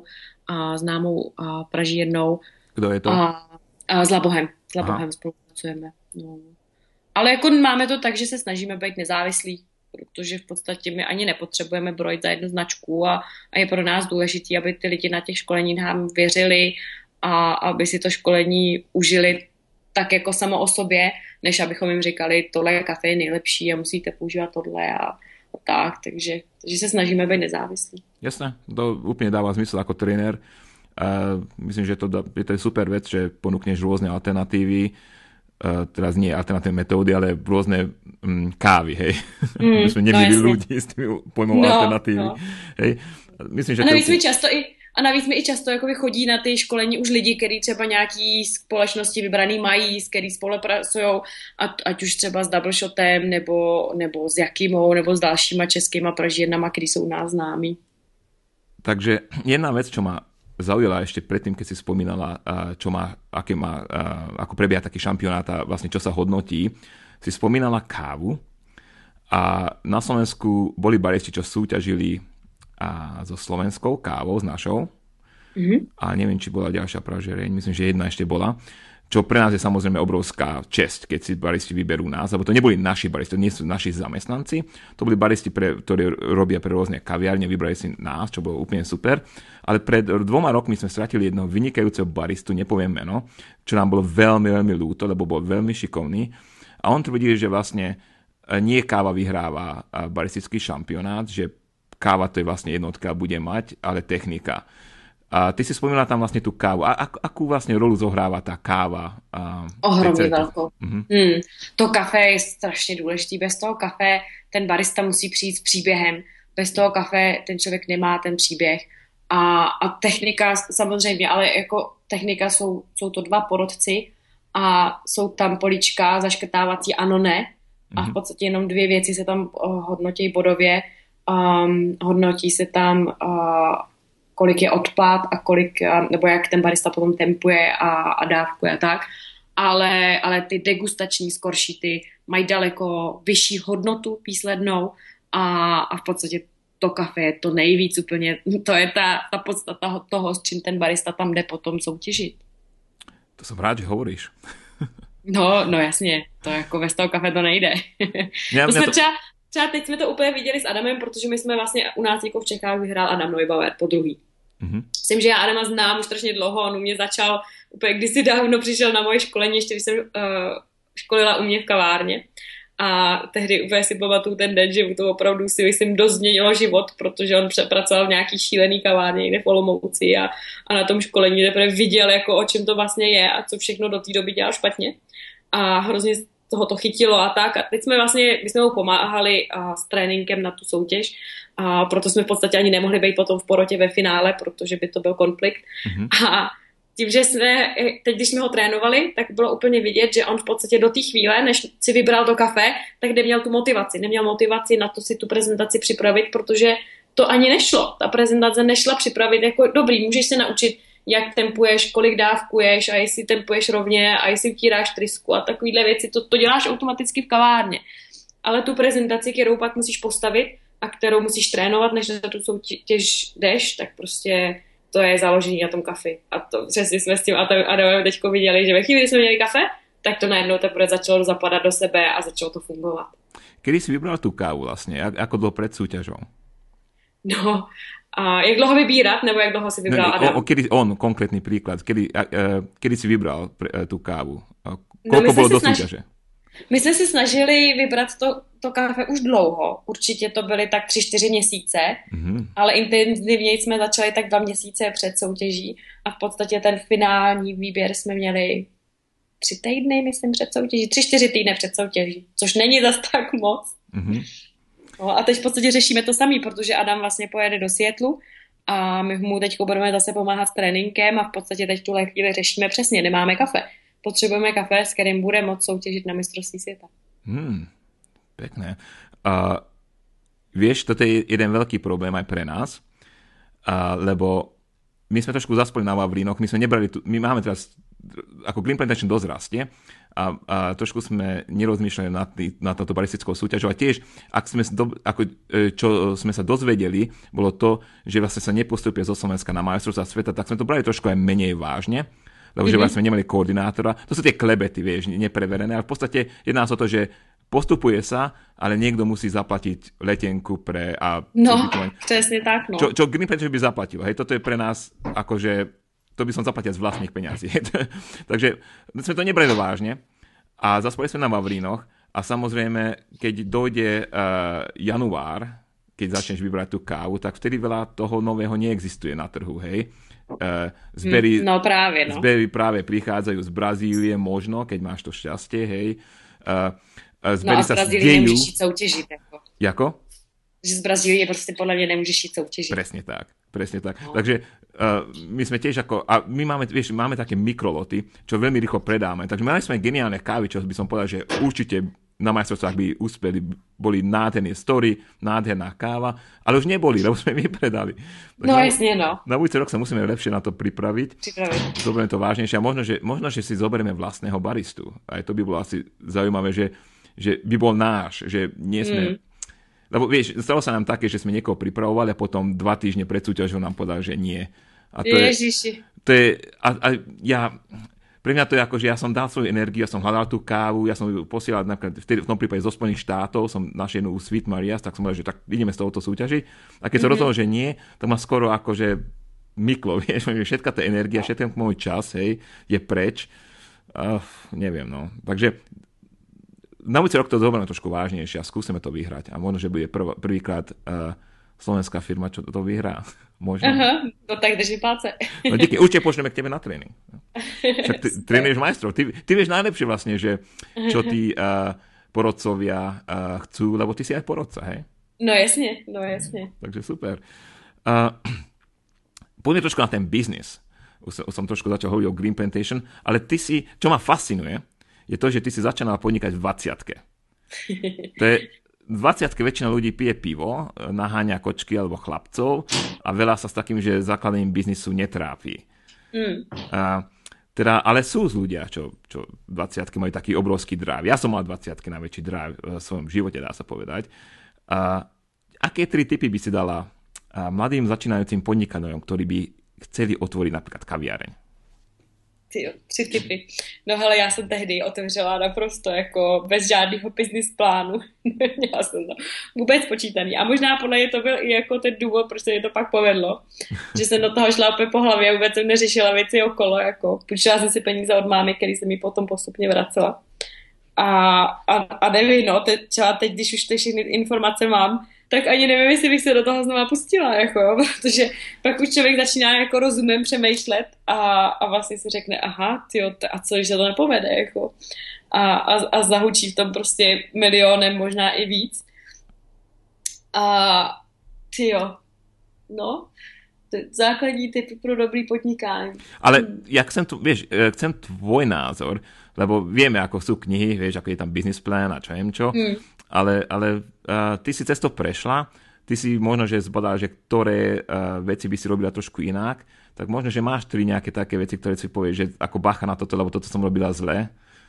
známou pražírnou. Kdo je to? S Labohem. S Labohem spolupracujeme. No. Ale jako máme to tak, že se snažíme být nezávislí, protože v podstatě my ani nepotřebujeme brojit za jednu značku a je pro nás důležité, aby ty lidi na těch školeních nám věřili a aby si to školení užili tak jako samo o sobě, než abychom jim říkali, tohle kafe je nejlepší a musíte používat tohle a tak, takže se snažíme být nezávislí. Jasné, to úplne dáva zmysel ako tréner. Myslím, že to je super vec, že ponúkneš rôzne alternatívy. teraz nie alternatívne metódy, ale rôzne kávy, hej. My sme nevideli ľudí s tými pojmou alternatívy. No. Hej. Myslím, že a navíc mi i často jakoby chodí na ty školení už lidi, kteří třeba nějaký společnosti vybraný mají, s který spolupracují, ať už třeba s Double Shotem, nebo s Jakimou, nebo s dalšíma českýma pražírnama, který jsou u nás známí. Takže jedna vec, čo ma zaujala ešte predtým, keď si spomínala, ako prebieha taký šampionát a vlastne čo sa hodnotí, si spomínala kávu a na Slovensku boli baristi, čo súťažili so slovenskou kávou, s našou. A neviem, či bola ďalšia pražiereň, myslím, že jedna ešte bola. Čo pre nás je samozrejme obrovská česť, keď si baristi vyberú nás, lebo to neboli naši baristi, to nie sú naši zamestnanci, to boli baristi, ktorí robia pre rôzne kaviárne, vybrali si nás, čo bolo úplne super. Ale pred 2 rokmi sme stratili jednoho vynikajúceho baristu, nepoviem meno, čo nám bolo veľmi, veľmi ľúto, lebo bol veľmi šikovný. A on tvrdí, že vlastne nie káva vyhráva baristický šampionát, že káva to je vlastne jednotka, bude mať, ale technika. A ty si spomínala tam vlastne tú kávu. Akú vlastne rolu zohráva tá káva? Ohromně velkou. To kafe je strašně důležitý. Bez toho kafe ten barista musí přijít s příběhem. Bez toho kafe ten člověk nemá ten příběh. A technika samozřejmě, ale jako technika jsou to 2 porodci a jsou tam políčka zaškrtávací ano, ne. A v podstatě jenom 2 věci se tam hodnotí bodově. Hodnotí se tam kolik je odpad a kolik, nebo jak ten barista potom tempuje a dávkuje a tak. Ale ty degustační skoršity mají daleko vyšší hodnotu výslednou a v podstatě to kafe je to nejvíc úplně, to je ta podstata toho, s čím ten barista tam jde potom soutěžit. To jsem rád, že hovoríš. No jasně, to jako bez toho kafe to nejde. Třeba teď jsme to úplně viděli s Adamem, protože my jsme vlastně u nás jako v Čechách vyhrál Adam Neubauer po druhý. Myslím, že já Adama znám už strašně dlouho, on u mě začal úplně kdysi dávno, přišel na moje školení, ještě když jsem školila u mě v kavárně. A tehdy úplně si pamatuju ten den, že to opravdu si myslím dost změnilo život, protože on pracoval v nějaký šílený kavárně někde v Olomouci a na tom školení teprve viděl, jako o čem to vlastně je a co všechno do té doby dělal špatně. A hrozně toho to chytilo a tak. A teď my jsme mu pomáhali s tréninkem na tu soutěž a proto jsme v podstatě ani nemohli být potom v porotě ve finále, protože by to byl konflikt. A tím, že teď, když jsme ho trénovali, tak bylo úplně vidět, že on v podstatě do té chvíle, než si vybral to kafe, tak neměl tu motivaci. Neměl motivaci na to si tu prezentaci připravit, protože to ani nešlo. Ta prezentace nešla připravit jako dobrý, můžeš se naučit, jak tempuješ, kolik dávkuješ a jestli tempuješ rovně a jestli utíráš trysku a takovýhle věci, to děláš automaticky v kavárně. Ale tu prezentaci, kterou pak musíš postavit a kterou musíš trénovat, než na tu soutěž jdeš, tak prostě to je založení na tom kafi. A to přesně jsme s tím Adamem teďko viděli, že ve chvíli, kdy jsme měli kafe, tak to najednou teprve začalo zapadat do sebe a začalo to fungovat. Kedy si vybral tú kávu vlastne? Ako dlho pred súťažou? No, a jak dlouho vybírat, nebo jak dlouho si vybral Adam? Konkrétny príklad. Kedy si vybral tú kávu? Koľko bolo do súťaže? My jsme se snažili vybrat to kafe už dlouho. Určitě to byly tak 3-4 měsíce, ale intenzivně jsme začali tak 2 měsíce před soutěží a v podstatě ten finální výběr jsme měli 3 týdny, myslím, před soutěží. 3-4 týdny před soutěží, což není zas tak moc. No, a teď v podstatě řešíme to samý, protože Adam vlastně pojede do Seattlu a my mu teď budeme zase pomáhat s tréninkem a v podstatě teď tuhle chvíli řešíme přesně, nemáme kafe. Potřebujeme kafe, s kterým bude moct soutěžit na mistrovství světa. Pekné. Vieš, toto je jeden veľký problém aj pre nás, lebo my sme trošku zaspali na Vavrínoch, my máme teraz, ako Green Plantation dosť rastie a trošku sme nerozmýšľali nad touto baristickou súťažou a tiež, čo sme sa dozvedeli, bolo to, že vlastne sa nepostupia zo Slovenska na majstrovstvá sveta, tak sme to brali trošku aj menej vážne, lebo že vlastne nemali koordinátora. To sú tie klebety, vieš, nepreverené, ale v podstate jedná sa o to, že postupuje sa, ale niekto musí zaplatiť letenku pre... presne tak, no. Čo Green Plantation by zaplatil, hej, toto je pre nás akože, to by som zaplatil z vlastných peňazí. Takže sme to nebrali vážne a zaspali sme na Vavrínoch a samozrejme, keď dojde január, keď začneš vybrať tú kávu, tak vtedy veľa toho nového neexistuje na trhu, hej. Zbery práve prichádzajú z Brazílie možno, keď máš to šťastie, hej. Zbery a z Brazílie nemůžeš jít soutěžit. Jako? Že z Brazílie prostě podľa mňa nemôžeš jít soutěžit. Presne tak. No. Takže my sme tiež a my máme také mikroloty, čo veľmi rýchlo predáme. Takže mali sme geniálne kávy, čo by som povedal, že určite na majstrovstvách by uspeli, boli nádherné story, nádherná káva, ale už neboli, lebo sme vypredali. Jasne, no. Na budúci rok sa musíme lepšie na to pripraviť. Zoberieme to vážnejšie a možno, že si zoberieme vlastného baristu. Aj to by bolo asi zaujímavé, že by bol náš, že nie sme... Lebo vieš, stalo sa nám také, že sme niekoho pripravovali a potom 2 týždne pred súťažou nám povedal, že nie. A to Ježiši. Pre mňa to je ako, že ja som dal svoju energiu, ja som hľadal tú kávu, ja som ju posielal napríklad v tom prípade zo Spojených štátov, som našiel jednu Sweet Marias, tak som povedal, že tak ideme z tohoto súťažiť. A keď som rozhodol, že nie, tak ma skoro akože myklo, vieš, všetka tá energia, všetký môj čas, hej, je preč. Neviem, no. Takže na budúci rok to zoberieme trošku vážnejšie a skúsime to vyhrať. A možno, že bude prvýkrát slovenská firma, čo to vyhrá. Možno. Aha, no tak drží palce. No díky, určite pošleme k tebe na tréning. Však ty trénuješ majstrov. Ty vieš najlepšie vlastne, že čo tí porodcovia chcú, lebo ty si aj porodca, hej? No jasne. Takže super. Poďme trošku na ten biznis. Už som trošku začal hovoriť o Green Plantation, ale ty si, čo ma fascinuje, je to, že ty si začínala podnikať v 20-ke. To je, v 20-ke väčšina ľudí pije pivo, naháňa kočky alebo chlapcov a veľa sa s takým, že základením biznisu netrápi. Ale sú ľudia, čo v 20-ke majú taký obrovský drive. Ja som mal 20-ke najväčší drive v svojom živote, dá sa povedať. Aké 3 tipy by si dala mladým začínajúcim podnikateľom, ktorí by chceli otvoriť napríklad kaviareň? 3 tipy. No hele, já jsem tehdy otevřela naprosto jako bez žádného business plánu. Měla jsem to vůbec počítaný. A možná podle mě to byl i jako ten důvod, proč se mi to pak povedlo. Že jsem do toho šla opět po hlavě a vůbec jsem neřešila věci okolo. Jako půjčila jsem si peníze od mámy, který jsem mi potom postupně vracela. A nevím, no, třeba teď, když už ty všechny informace mám, tak ani nevím, jestli bych se do toho znova pustila, jako, protože pak už člověk začíná jako rozumem přemýšlet a vlastně si řekne, aha, tyjo, a co, když se to nepovede, jako, a zahučí v tom prostě milionem, možná i víc. A tyjo, no, to je základní typ pro dobrý podnikání. Ale jak chcem tvoj názor, lebo vieme, ako sú knihy, vieš, ako je tam business plan a čo neviem čo, ale ty si cez to prešla, ty si možno, že zbadala, že ktoré veci by si robila trošku inak, tak možno, že máš 3 nejaké také veci, ktoré si povieš, že ako bacha na toto, lebo toto som robila zle.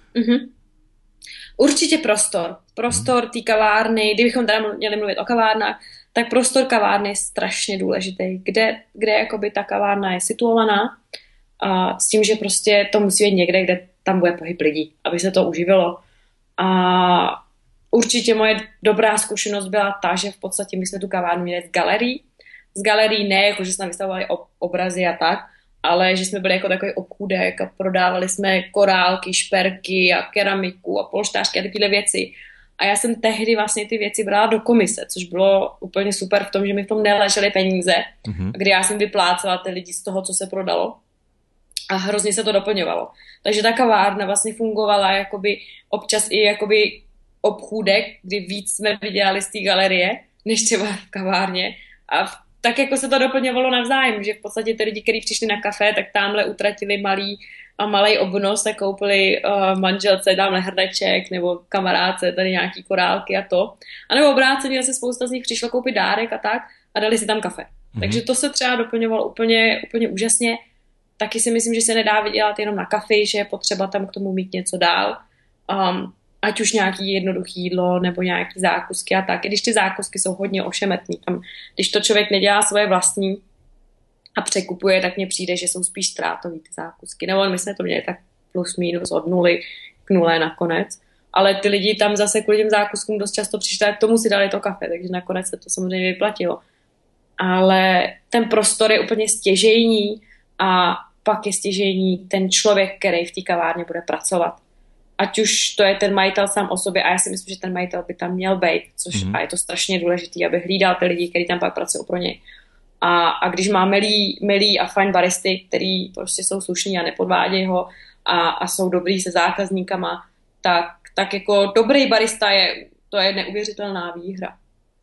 Určitě prostor té kavárny, kdybychom teda měli mluvit o kavárnách, tak prostor kavárny je strašně důležitý, kde jakoby ta kavárna je situovaná a s tím, že prostě to musí být někde, kde tam bude pohyb lidí, aby se to uživilo. A určitě moje dobrá zkušenost byla ta, že v podstatě my jsme tu kavárnu měli z galerií ne, jako že jsme vystavovali obrazy a tak, ale že jsme byli jako takový obchůdek a prodávali jsme korálky, šperky a keramiku a polštářky a tyhle věci. A já jsem tehdy vlastně ty věci brala do komise, což bylo úplně super v tom, že mi v tom neležely peníze, kdy já jsem vyplácela ty lidi z toho, co se prodalo. A hrozně se to doplňovalo. Takže ta kavárna vlastně fungovala jakoby občas i jakoby obchůdek, kdy víc jsme vydělali z té galerie, než třeba v kavárně. A tak jako se to doplňovalo navzájem, že v podstatě ty lidi, kteří přišli na kafe, tak tamhle utratili malý obnos, tak koupili manželce tamhle hrneček nebo kamarádce tady nějaký korálky a to. A nebo obráceně se spousta z nich přišlo koupit dárek a tak a dali si tam kafe. Takže to se třeba doplňovalo úplně úžasně. Taky si myslím, že se nedá vydělat jenom na kafi, že je potřeba tam k tomu mít něco dál. Ať už nějaký jednoduchý jídlo nebo nějaký zákusky a tak. I když ty zákusky jsou hodně ošemetný. Tam, když to člověk nedělá svoje vlastní a překupuje, tak mně přijde, že jsou spíš ztrátový ty zákusky. Nebo my jsme to měli tak plus minus od 0 k 0 nakonec. Ale ty lidi tam zase kvůli těm zákuskům dost často přišli a k tomu si dali to kafe, takže nakonec se to samozřejmě vyplatilo. Ale ten prostor je úplně stěžejní a pak je stěžejní ten člověk, který v té kavárně bude pracovat. ať už to je ten majitel sám o sobě, a já si myslím, že ten majitel by tam měl být, což a je to strašně důležitý, aby hlídal ty lidi, kteří tam pak pracují pro něj. A když má milý a fajn baristy, který prostě jsou slušní a nepodvádějí ho a jsou dobrý se zákazníkama, tak jako dobrý barista to je neuvěřitelná výhra.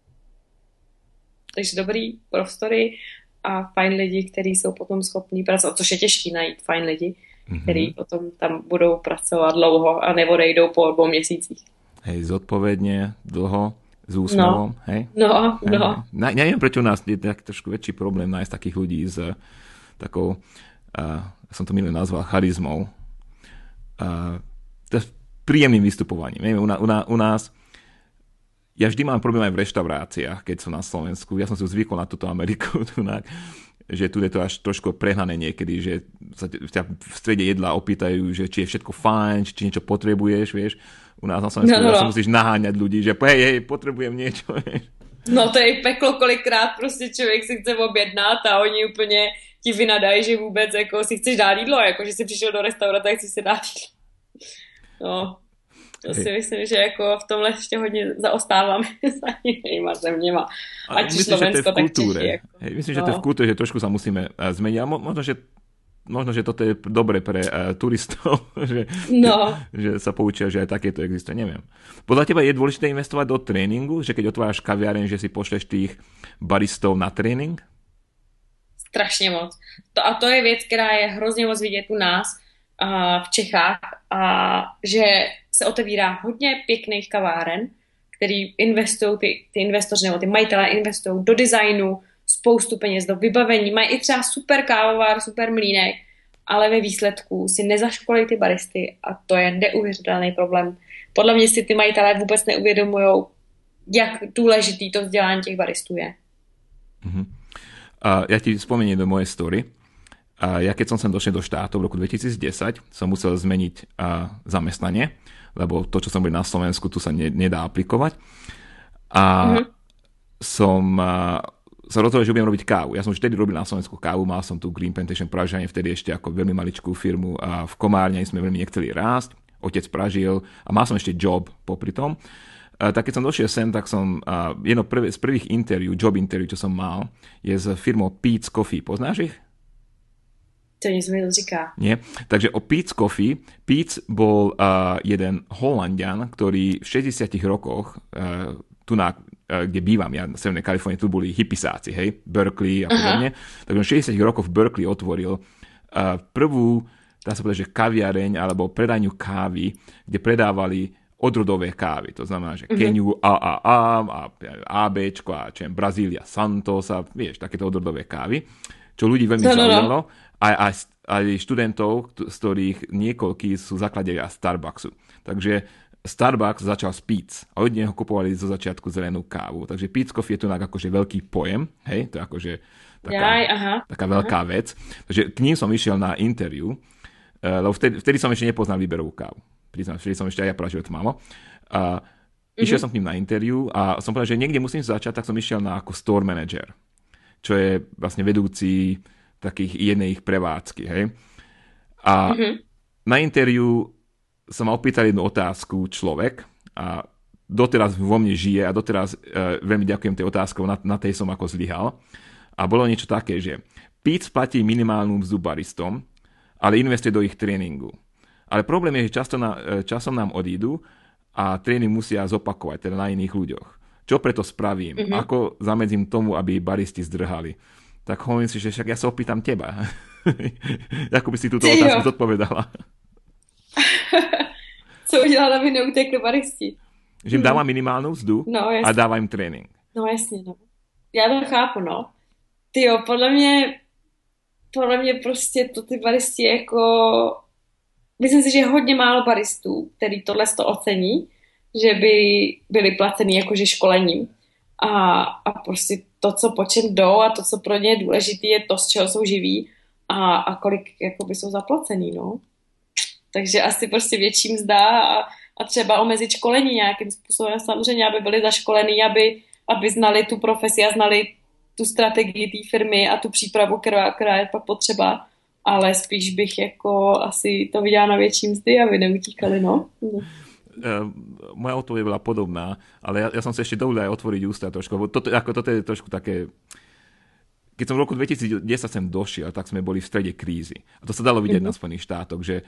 Takže dobrý prostory a fajn lidi, kteří jsou potom schopní pracovat, což je těžký najít fajn lidi, kteří potom tam budou pracovat dlouho a neodejdou po 2 měsících. Hej, zodpovedne, dlho, s úsmevom, hej? No. Neviem, prečo u nás je tak trošku väčší problém nájsť takých ľudí s takou, som to minulé nazval, charizmou. To je príjemným vystupovaním. U nás ja vždy mám problém aj v reštauráciách, keď som na Slovensku. Ja som si zvykol na túto Ameriku, že tu je to až trošku prehnané niekedy, že sa ťa v strede jedla opýtajú, že či je všetko fajn, či niečo potrebuješ, vieš. U nás na Slovensku sa musíš naháňať ľudí, že hej, potrebujem niečo, vieš. No to je peklo, kolikrát prostě člověk si chce objednat a oni úplně ti vynadají, že vůbec jako si chceš dát jídlo, jako že jsi přišel do restaurace a chci si dát jídlo. No, to si myslím, že jako v tomhle ještě hodně zaostáváme za jinýma zeměma. Ať Slovensko, tak Čechy. Jako. Myslím, že to je v kultúre, že trošku sa musíme zmeniť. A možno, že toto je dobre pre turistov, že sa poučia, že aj takéto existuje, neviem. Podľa teba je dôležité investovať do tréningu, že keď otváraš kaviareň, že si pošleš tých baristov na trénink? Strašně moc. A to je věc, která je hrozně moc vidět u nás v Čechách, a že se otevírá hodně pěkných kaváren, který investují, ty investoři nebo ty majitelé investují do designu, spoustu peněz do vybavení, mají i třeba super kávovár, super mlýnek, ale ve výsledku si nezaškolí ty baristy a to je neuvěřitelný problém. Podle mě si ty majitelé vůbec neuvědomují, jak důležitý to vzdělání těch baristů je. Ja ti spomeniem do mojej story. Ja keď som sem došiel do štátov v roku 2010, som musel zmeniť zamestnanie, lebo to, čo som bol na Slovensku, tu sa nedá aplikovať. A som sa rozhodol, že budem robiť kávu. Ja som už vtedy robil na Slovensku kávu, mal som tu Green Plantation Pražane, vtedy ešte ako veľmi maličkú firmu a v Komárne sme veľmi nechceli rásť. Otec pražil a mal som ešte job popri tom. Tak keď som došiel sem, tak som jedno z prvých job interview, čo som mal, je s firmou Peet's Coffee. Poznáš ich? To nic mi neříká. Nie. Takže o Peet's Coffee. Peet's bol jeden Holandian, ktorý v 60 rokoch kde bývam ja na Severnej Kalifornii, tu boli hippisáci, hej, Berkeley a podobne. Takže v 60 rokoch v Berkeley otvoril prvú, dá sa povedať, že kaviareň alebo predajňu kávy, kde predávali odrodové kávy. To znamená, že Keniu AAA, ABčko a čo je Brazília Santos a vieš, takéto odrodové kávy, čo ľudí veľmi zaujalo. Aj študentov, z ktorých niekoľkí sú zakladatelia Starbucksu. Takže Starbucks začal s Peet's a od neho kupovali zo začiatku zelenú kávu. Takže Peet's Coffee je to akože veľký pojem, hej, to je akože taká veľká vec. Takže k ním som išiel na interview, lebo vtedy som ešte nepoznal výberovú kávu. Priznám, vtedy som ešte aj ja pražil tmavo. Išiel som k ním na interview a som povedal, že niekde musím začať, tak som išiel na ako store manager, čo je vlastne vedúci takých jednej ich prevádzky, hej. A na interview sa ma opýtal jednu otázku človek a doteraz vo mne žije a doteraz veľmi ďakujem tej otázkou, na tej som ako zlyhal. A bolo niečo také, že Peet's platí minimálnu mzdu baristom, ale investuje do ich tréningu. Ale problém je, že časom nám odídu a tréning musia zopakovať, teda na iných ľuďoch. Čo preto spravím? Ako zamedzím tomu, aby baristi zdrhali? Tak hovorím si, že však ja sa opýtam teba. Ako by si túto otázku zodpovedala? Co udělala, aby neutekli baristi? Že jim dávám minimálnu mzdu a dávám jim trénink. No jasně, no. Já to chápu, no. Tyjo, podle mě prostě to ty baristi jako... Myslím si, že je hodně málo baristů, který tohle to ocení, že by byli placený jakože školením. A prostě to, co po čem jdou a to, co pro ně je důležité, je to, z čeho jsou živí a kolik jakoby jsou zaplacený, no. Takže asi prostě větší mzda a třeba omezit školení nějakým způsobem. Samozřejmě, aby byli zaškolení, aby znali tu profesi a znali tu strategii té firmy a tu přípravu, která je pak potřeba. ale spíš bych jako asi to viděla na větší mzdy, aby neutíkali, no. Moja odpoveď bola podobná, ale ja som sa ešte dovolil aj otvoriť ústa trošku, lebo toto je trošku také. Keď som v roku 2010 sem došiel, tak sme boli v strede krízy. A to sa dalo vidieť na Spojených štátoch, že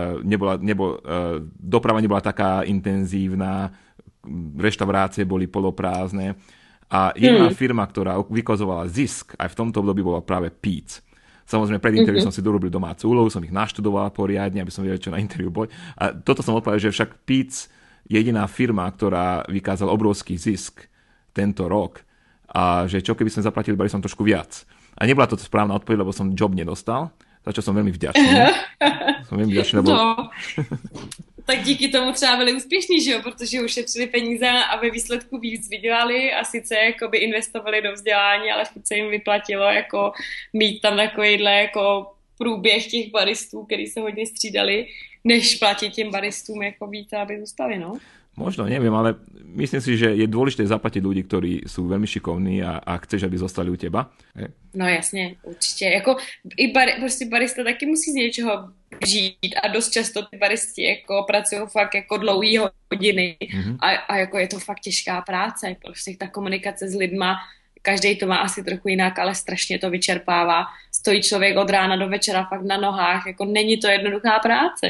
doprava nebola taká intenzívna, reštaurácie boli poloprázdne a jedna firma, ktorá vykazovala zisk aj v tomto období, bola práve Peet's. Samozrejme, pred interviu som si dorobil domácu úlohu, som ich naštudoval poriadne, aby som vedel, čo na interviu bol. A toto som odpovedal, že však Peet's je jediná firma, ktorá vykázala obrovský zisk tento rok a že čo keby sme zaplatili baristom trošku viac. A nebola to správna odpoveď, lebo som job nedostal, za čo som veľmi vďačný. Lebo... No, tak díky tomu třeba byli úspěšní, že jo, protože ušetřili peníze a ve výsledku víc vydělali a sice jakoby investovali do vzdělání, ale furt se jim vyplatilo jako mít tam takovýhle jako průběh těch baristů, který se hodně střídali, než platit těm baristům jako víc, aby zůstali, no. Možno, neviem, ale myslím si, že je dôležité zaplatiť ľudí, ktorí sú veľmi šikovní a chceš, aby zostali u teba. No jasně, určitě. Jako prostě barista taky musí z něčeho žít a dost často ty baristi jako pracují fakt jako dlouhý hodiny a jako je to fakt těžká práce. Prostě ta komunikace s lidma, každý to má asi trochu jinak, ale strašně to vyčerpává. Stojí člověk od rána do večera fakt na nohách, jako není to jednoduchá práce.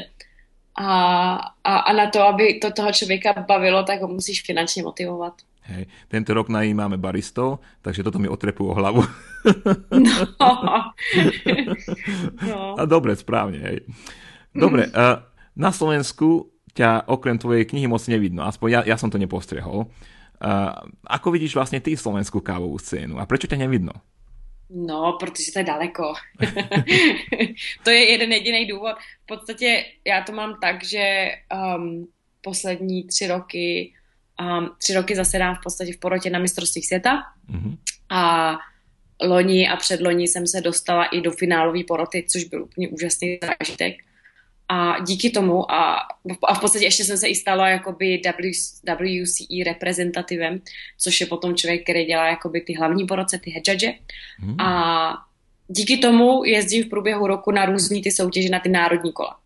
A na to, aby to toho člověka bavilo, tak ho musíš finančně motivovat. Hej, tento rok najímáme baristov, takže toto mi otrepú o hlavu. No. A dobre, správne. Hej. Dobre, na Slovensku ťa okrem tvojej knihy moc nevidno, aspoň ja som to nepostrehol. Ako vidíš vlastne ty slovenskú kávovú scénu a prečo ťa nevidno? No, protože to je daleko. To je jeden jediný důvod. V podstatě já to mám tak, že poslední 3 roky zasedám v podstatě v porotě na mistrovství světa a loni a předloni jsem se dostala i do finálové poroty, což byl úplně úžasný zážitek. A díky tomu a v podstatě ještě jsem se i stala jakoby WCE reprezentativem, což je potom člověk, který dělá jakoby ty hlavní poroce, ty head judge. A díky tomu jezdím v průběhu roku na různý ty soutěže, na ty národní kola.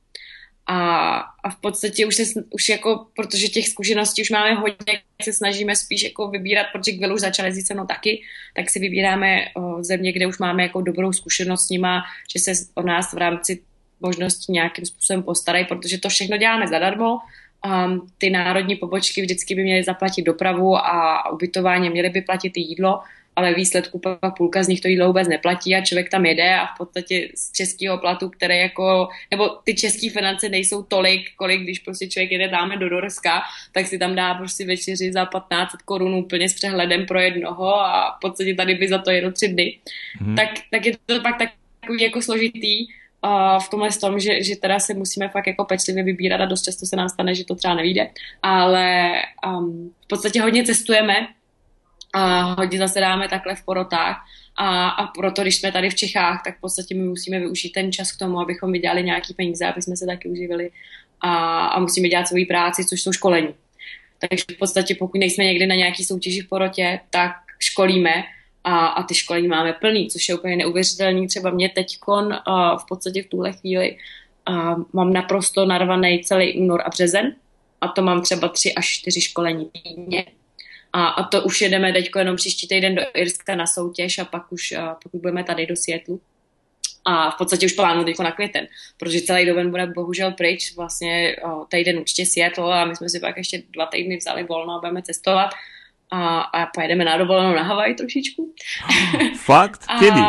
A v podstatě už jako, protože těch zkušeností už máme hodně, se snažíme spíš jako vybírat, protože Will už začal jezdit se mnou taky, tak si vybíráme země, kde už máme jako dobrou zkušenost s nima, že se o nás v rámci možnosti nějakým způsobem postarají, protože to všechno děláme zadarmo. Ty národní pobočky vždycky by měly zaplatit dopravu a ubytování, měly by platit i jídlo, ale výsledku pak půlka z nich to jídlo vůbec neplatí a člověk tam jede a v podstatě z českého platu, které jako, nebo ty české finance nejsou tolik, kolik když prostě člověk jede dáme do Norska, tak si tam dá prostě večeři za 1500 korun úplně s přehledem pro jednoho a v podstatě tady by za to jedno 3 dny. Tak je to pak takový jako složitý v tomhle tom, že teda se musíme fakt jako pečlivě vybírat a dost často se nám stane, že to třeba nevyjde, ale v podstatě hodně cestujeme a hodně zasedáme takhle v porotách a proto, když jsme tady v Čechách, tak v podstatě my musíme využít ten čas k tomu, abychom vydělali nějaký peníze, aby jsme se taky uživili a musíme dělat svoji práci, což jsou školení. Takže v podstatě pokud nejsme někdy na nějaký soutěži v porotě, tak školíme a ty školení máme plný, což je úplně neuvěřitelný. Třeba mě teďkon v podstatě v tuhle chvíli mám naprosto narvaný celý únor a březen a to mám třeba 3 až 4 školení týdně. A to už jedeme teďko jenom příští týden do Irska na soutěž a pak už pokud budeme tady do Seattlu. A v podstatě už plánuju teďko na květen, protože celý doben bude bohužel pryč, vlastně týden určitě Seattle a my jsme si pak ještě 2 týdny vzali volno a budeme cestovat. A pojedeme na dovolenou na Havaj trošičku. Fakt? Kedy?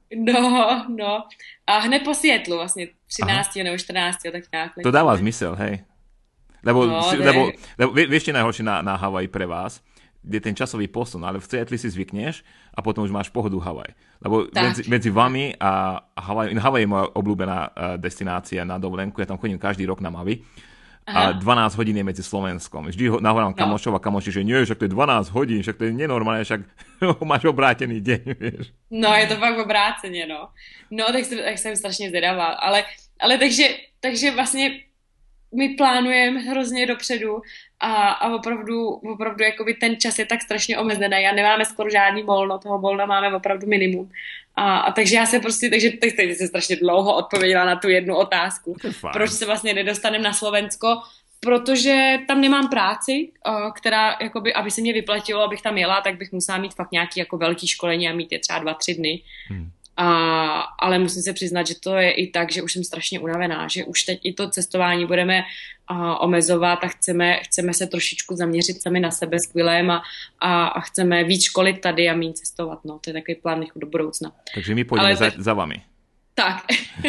No. A hned po Seattlu vlastně 13. nebo 14. tak nějak. To dáva zmysel, hej. Lebo vieš, čo najhoršie na Havaj pre vás, je ten časový posun, ale v Seattle si zvykneš a potom už máš pohodu Havaj. Lebo medzi vami a Havaj je moja obľúbená destinácia na dovolenku, ja tam chodím každý rok na Mavi. A 12 hodín je medzi Slovenskom. Vždy nahovorám kamošov a kamoši, že nie, však to je 12 hodín, však to je nenormálne, však máš obrátený deň, vieš. No, je to fakt obráceně, no. No, tak jsem strašně zvědavá. Ale takže vlastně my plánujeme hrozně dopředu a opravdu jakoby ten čas je tak strašně omezený a nemáme skoro žádný volno, toho volna máme opravdu minimum. A takže já se prostě, takže teď se strašně dlouho odpověděla na tu jednu otázku. Proč se vlastně nedostaneme na Slovensko? Protože tam nemám práci, která, jakoby, aby se mě vyplatilo, abych tam jela, tak bych musela mít fakt nějaký jako velký školení a mít je třeba 2-3 dny. Ale musím se přiznat, že to je i tak, že už jsem strašně unavená, že už teď i to cestování budeme omezovat a chceme se trošičku zaměřit sami na sebe s Quillem a chceme víc školit tady a méně cestovat. No, to je takový plán do budoucna. Takže my půjdeme za vami. Tak.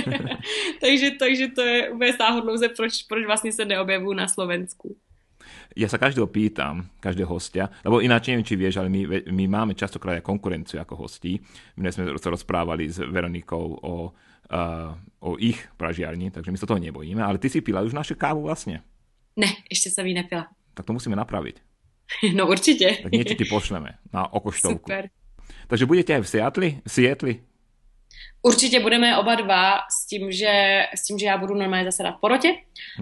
takže to je úplně sáhodlouze, proč vlastně se neobjevujú na Slovensku. Ja sa každého pýtam, každého hostia, lebo ináč neviem, či vieš, ale my máme častokrát aj konkurenciu ako hostí. My sme sa rozprávali s Veronikou o ich pražiarni, takže my sa toho nebojíme. Ale ty si pila už našu kávu vlastne? Ne, ešte som ji nepila. Tak to musíme napraviť. No určite. Tak niečo ti pošleme na okoštovku. Super. Takže budete aj v Seattle? Určitě budeme oba dva s tím, že já budu normálně zasedat v porotě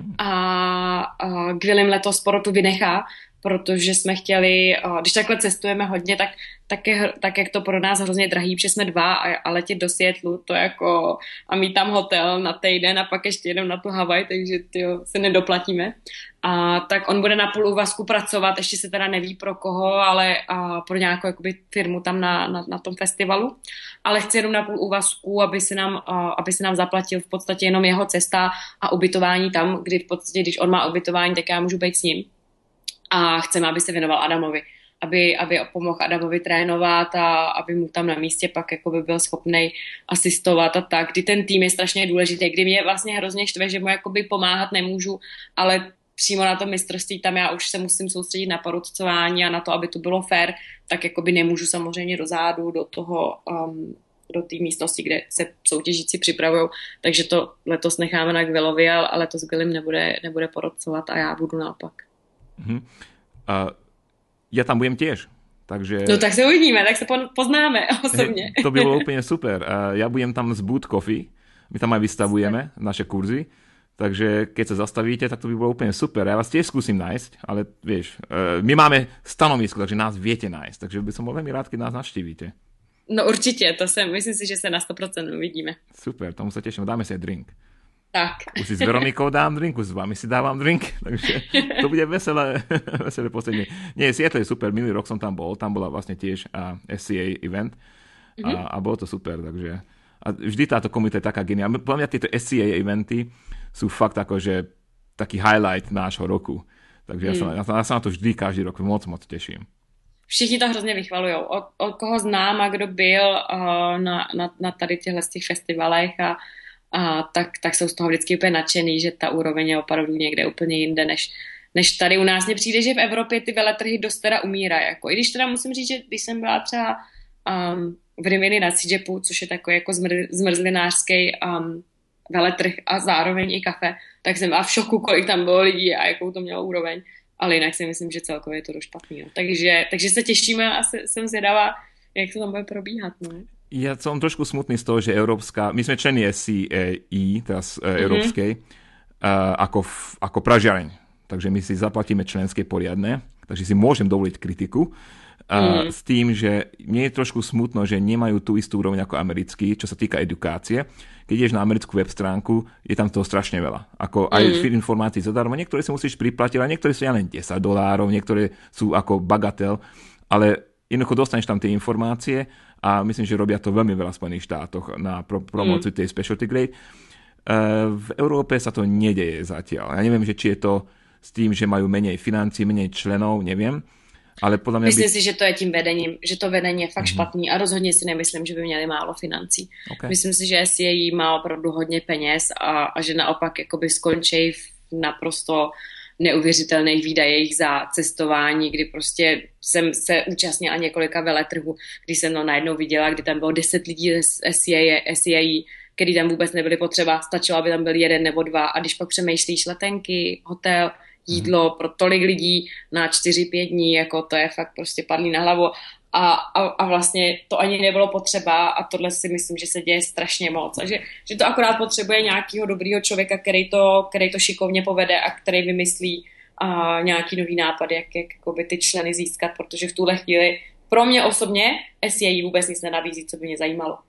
a Gwilym letos porotu vynechá, protože jsme chtěli, když takhle cestujeme hodně, tak jak to pro nás hrozně drahý, protože jsme 2 a letět do Seattlu, to jako a mít tam hotel na týden a pak ještě jedem na tu Havaj, takže se nedoplatíme. A tak on bude na půl úvazku pracovat, ještě se teda neví pro koho, ale pro nějakou jakoby firmu tam na tom festivalu. Ale chci jenom na půl úvazku, aby se nám zaplatil v podstatě jenom jeho cesta a ubytování tam, kdy v podstatě, když on má ubytování, tak já můžu být s ním. A chceme, aby se věnoval Adamovi. Aby pomohl Adamovi trénovat a aby mu tam na místě pak jakoby byl schopnej asistovat a tak. Kdy ten tým je strašně důležitý, kdy mě vlastně hrozně štve, že mu jakoby pomáhat nemůžu, ale přímo na to mistrovství tam já už se musím soustředit na porotcování a na to, aby to bylo fair, tak jakoby nemůžu samozřejmě do zádu, do té místnosti, kde se soutěžíci připravují, takže to letos necháme na Gwillovi, ale letos Gwilym nebude porotcovat a já budu naopak. Ja tam budem tiež. Takže... No tak se uvidíme, tak se poznáme osobně. To by bolo úplne super. Ja budem tam z Boot Coffee, my tam aj vystavujeme naše kurzy, takže keď sa zastavíte, tak to by bolo úplne super. Ja vás tiež skúsim nájsť, ale vieš, my máme stanovisko, takže nás viete nájsť, takže by som bol veľmi rád, keď nás navštívite. No určitě, myslím si, že se na 100% uvidíme. Super, tomu sa teším, dáme si aj drink. Tak. Už si s Veronikou dám drink, už s vami si dávam drink, takže to bude veselé posledne. Nie, Seattle je super, minulý rok som tam bola vlastne tiež SCA event a bolo to super, takže a vždy táto komunita je taká geniálna. Podľa mňa tieto SCA eventy sú fakt akože taký highlight nášho roku, takže ja sa na to vždy každý rok moc teším. Všichni to hrozně vychvalujou. Od koho znám a kdo byl na tady těchto festivalech tak jsou z toho vždycky úplně nadšený, že ta úroveň je opravdu někde úplně jinde, než tady u nás. Mně přijde, že v Evropě ty veletrhy dost teda umírají. Jako. I když teda musím říct, že když jsem byla třeba v Rimini na CJPu, což je takový jako zmrzlinářský veletrh a zároveň i kafe, tak jsem byla v šoku, kolik tam bylo lidí a jakou to mělo úroveň. Ale jinak si myslím, že celkově je to dost špatný. No. Takže se těšíme a jsem zvědavá, jak to tam bude probíhat. No. Ja som trošku smutný z toho, že my sme členi SCAE, teraz európskej, ako pražiareň. Takže my si zaplatíme členské poriadne, takže si môžem dovoliť kritiku. S tým, že mne je trošku smutno, že nemajú tú istú úroveň ako americký, čo sa týka edukácie. Keď ideš na americkú web stránku, je tam toho strašne veľa. Ako aj informácií zadarmo. Niektoré si musíš priplatiť, ale niektoré sú len $10, niektoré sú ako bagatel, ale jednoducho dostaneš tam tie informácie a myslím, že robia to veľmi veľa v Spojených štátoch na promóciu tej specialty grade. V Európe sa to nedeje zatiaľ. Ja neviem, že či je to s tým, že majú menej financií, menej členov, neviem. Ale podľa mňa myslím si, že to je tím vedením, že to vedení je fakt špatný a rozhodně si nemyslím, že by měli málo financí. Okay. Myslím si, že SCAE má opravdu hodně peněz a že naopak jakoby skončí v naprosto neuvěřitelných výdajích za cestování, kdy prostě jsem se účastnila několika veletrhů, kdy jsem to najednou viděla, kdy tam bylo 10 lidí z SCAE, který tam vůbec nebyly potřeba, stačilo, aby tam byl 1 nebo 2 a když pak přemýšlíš letenky, hotel, jídlo pro tolik lidí na 4-5 dní, jako to je fakt prostě padlý na hlavu a vlastně to ani nebylo potřeba a tohle si myslím, že se děje strašně moc a že to akorát potřebuje nějakého dobrýho člověka, který to šikovně povede a který vymyslí a nějaký nový nápad, jak jakoby ty členy získat, protože v tuhle chvíli pro mě osobně SEA vůbec nic nenabízí, co by mě zajímalo.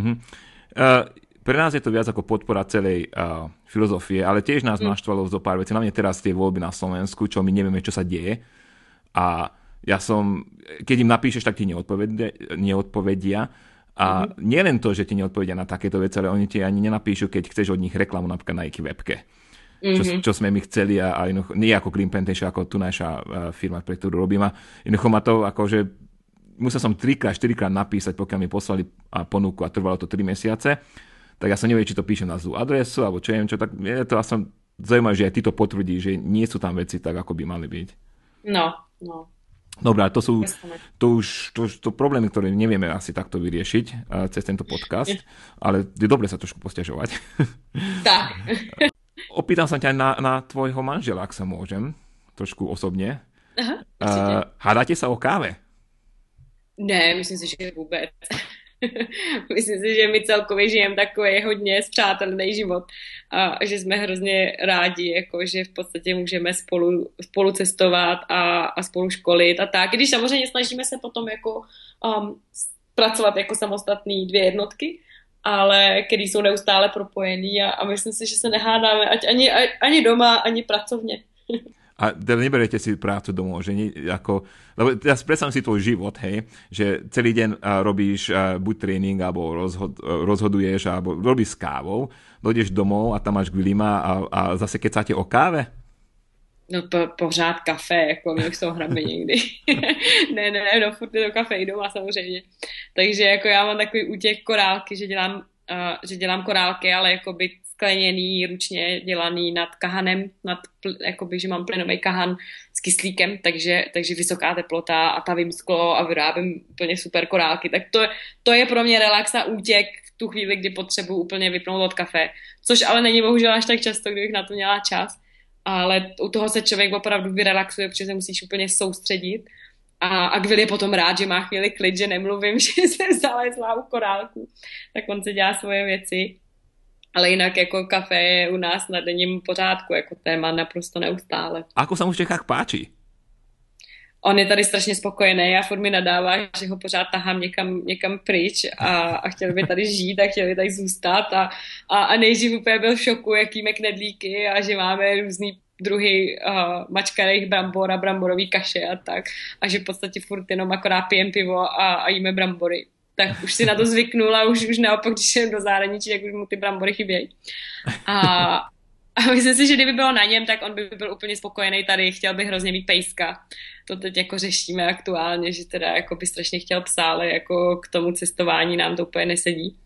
Pre nás je to viac ako podpora celej filozofie, ale tiež nás naštvalo zo pár vecí, hlavne teraz tie voľby na Slovensku, čo my nevieme, čo sa deje. A ja keď im napíšeš, tak ti neodpovedia. A nielen to, že ti neodpovedia na takéto veci, ale oni ti ani nenapíšu, keď chceš od nich reklamu napríklad na ich webke. Čo sme my chceli a nie ako Green Plantation, ako tu naša firma, pre ktorú robím. A jednoducho ma to akože musel som 3-4 krát napísať, pokiaľ mi poslali ponuku a trvalo to 3 mesiace. Tak ja som neviem, či to píšem na zlú adresu, alebo čo neviem čo, tak je to asi zaujímavé, že aj ty to potvrdí, že nie sú tam veci tak, ako by mali byť. No. Dobrá, to sú to problémy, ktoré nevieme asi takto vyriešiť cez tento podcast, ale je dobre sa trošku posťažovať. Tak. Opýtam sa ťa na tvojho manžela, ak sa môžem, trošku osobne. Aha, hádate sa o káve? Ne, myslím si, že vůbec. Myslím si, že my celkově žijeme takový hodně spřátelený život a že jsme hrozně rádi, jako, že v podstatě můžeme spolu cestovat a spolu školit a tak. Když samozřejmě snažíme se potom jako pracovat jako samostatný 2 jednotky, ale který jsou neustále propojený a myslím si, že se nehádáme ani doma, ani pracovně. A teda neberiete si prácu domov, že nie, ako, lebo teraz predstavím si tvoj život, hej, že celý deň robíš buď tréning, alebo rozhoduješ, alebo robíš s kávou, dojdeš domov a tam máš grilima a zase kecáte o káve? No pořád kafe, jako my už to hráme někdy. ne, furt je to kafe i doma samozřejmě. Takže jako já mám takový útěk korálky, že dělám korálky, ale jakoby skleněný, ručně dělaný nad kahanem, jakoby, že mám plynový kahan s kyslíkem, takže vysoká teplota a tavím sklo a vyrábím úplně super korálky. Tak to je pro mě relax a útěk v tu chvíli, kdy potřebuji úplně vypnout od kafe. Což ale není bohužel až tak často, kdybych na to měla čas. Ale u toho se člověk opravdu vyrelaxuje, protože se musíš úplně soustředit. A Gvil je potom rád, že má chvíli klid, že nemluvím, že jsem zalezla u korálku. Tak on se dělá svoje věci. Ale jinak jako kafe je u nás na denním pořádku, jako téma naprosto neustále. Ako sa mu v Čechách páči? On je tady strašně spokojený a furt mi nadává, že ho pořád tahám někam pryč a chtěl by tady žít a chtěl by tady zůstat a nejdřív úplně byl v šoku, jaký jíme knedlíky a že máme různý druhy mačkaných brambor a bramborový kaše a tak. A že v podstatě furt jenom akorát pijem pivo a jíme brambory. Tak už si na to zvyknul a už naopak, když jdem do zahraničí, tak už mu ty brambory chybějí. A myslím si, že kdyby bylo na něm, tak on by byl úplně spokojený tady, chtěl by hrozně mít pejska. To teď jako řešíme aktuálně, že teda jako by strašně chtěl psa, ale jako k tomu cestování nám to úplně nesedí.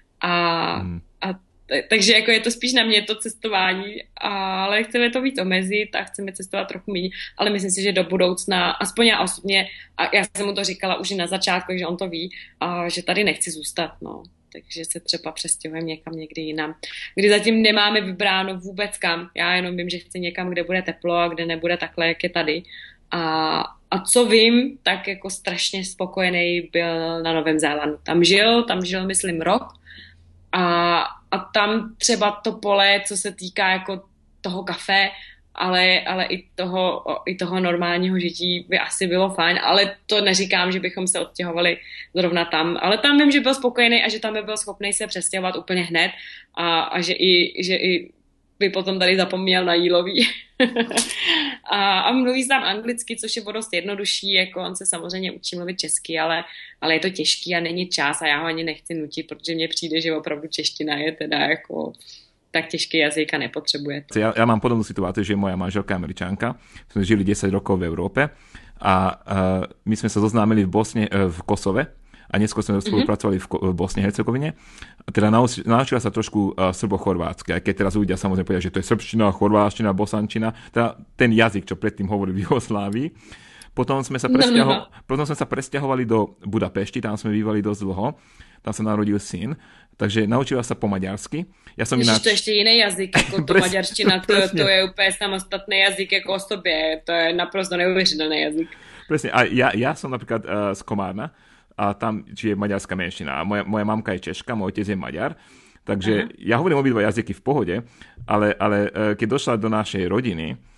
Takže jako je to spíš na mě to cestování, ale chceme to víc omezit a chceme cestovat trochu méně, ale myslím si, že do budoucna, aspoň já osobně, a já jsem mu to říkala už i na začátku, že on to ví, že tady nechci zůstat, no. Takže se třeba přestěhujeme někam někdy jinam, kdy zatím nemáme vybráno vůbec kam. Já jenom vím, že chci někam, kde bude teplo a kde nebude takhle, jak je tady. A co vím, tak jako strašně spokojený byl na Novém Zélandu. Tam žil myslím rok a tam třeba to pole, co se týká jako toho kafe, ale i toho normálního žití by asi bylo fajn, ale to neříkám, že bychom se odstěhovali zrovna tam, ale tam vím, že byl spokojený a že tam by byl schopný se přestěhovat úplně hned a že i by potom tady zapomněl na jílový. a mluví tam anglicky, což je dost jednodušší, jako on se samozřejmě učí mluvit česky, ale je to těžký a není čas a já ho ani nechci nutit, protože mně přijde, že opravdu čeština je teda jako tak těžký jazyk a nepotřebuje to. Ja mám podobnú situáciu, že moja manželka Američanka, sme žili 10 rokov v Európe a my sme sa zoznámili v Kosove a neskôr sme spolupracovali v Bosne Hercegovine. Teda naučila sa trošku srbo-chorvátsky, aj keď teraz ľudia samozrejme povedia, že to je srbština, chorváština, bosančina, teda ten jazyk, čo predtým hovorili v Jugoslávii. Potom sme sa presťahovali do Budapešti, tam sme bývali dosť dlho, tam sa narodil syn, takže naučila sa po maďarsky. Ja som to je ještě jiný jazyk, jako to maďarština, to je úplně samostatný jazyk jako o sobě, to je naprosto neuvěřitelný jazyk. Presne, a ja som napríklad z Komárna, a tam žije maďarská menšina. A moja mamka je Češka, môj otec je Maďar, takže ja hovorím obidva jazyky v pohode, ale keď došla do našej rodiny,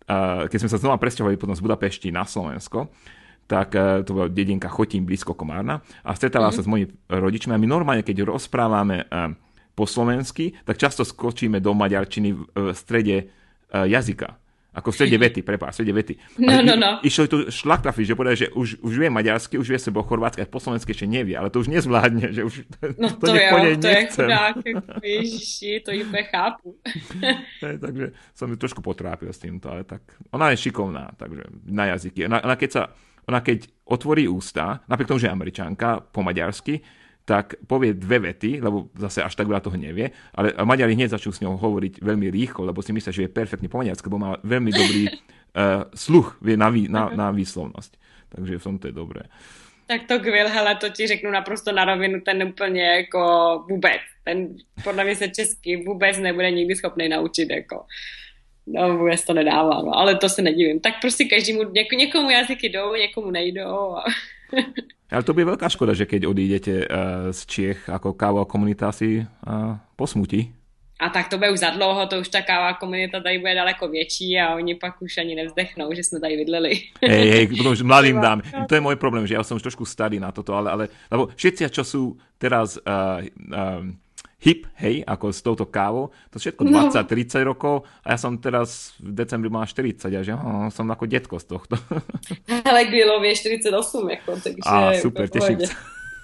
keď sme sa znova presťahovali potom z Budapešti na Slovensko, tak to bola dedinka Chotín blízko Komárna a stretávala sa s mojimi rodičmi a my normálne, keď rozprávame po slovensky, tak často skočíme do maďarčiny v strede jazyka. Ako v strede vety, v strede vety. No. Išlo tu šlaktrafi, že povedali, že už vie maďarsky, už vie sebo chorvátsky, a po slovensky ešte nevie, ale to už nezvládne, že už to je chudák, ježiši, to úplne chápu. Takže som ju trošku potrápil s týmto, ale tak ona je šikovná, takže na jazyky. Ona keď otvorí ústa, napriek tomu, že je Američanka po maďarsky, tak povie dve vety, lebo zase až tak veľa toho nevie, ale Maďari hneď začnú s ňou hovoriť veľmi rýchlo, lebo si myslia, že je perfektne po maďarsky, lebo má veľmi dobrý sluch, vie na výslovnosť. Takže v tomto je dobré. Tak to hele, to ti řeknu naprosto na rovinu, ten úplně jako vůbec. Ten podle mě se česky vůbec nebude nikdy schopný naučit, jako. No vůbec to nedává, no, ale to se nedivím. Tak prostě každému, někomu jazyky jdou, někomu nejdou. Ale to bude veľká škoda, že keď odídete z Čiech, ako káva komunita si posmutí. A tak to bude už za dlouho, to už ta káva komunita tady bude daleko větší a oni pak už ani nevzdechnou, že jsme tady bydleli. Hej, potom už mladým dám. To je môj problém, že ja som už trošku starý na toto, ale lebo všetci, čo sú teraz hip, hej, ako s touto kávou, to všetko 20-30 rokov a ja som teraz v decembri mal 40 a že som ako detko z tohto. Ale Grillovie je 48, jako, takže super, teším sa.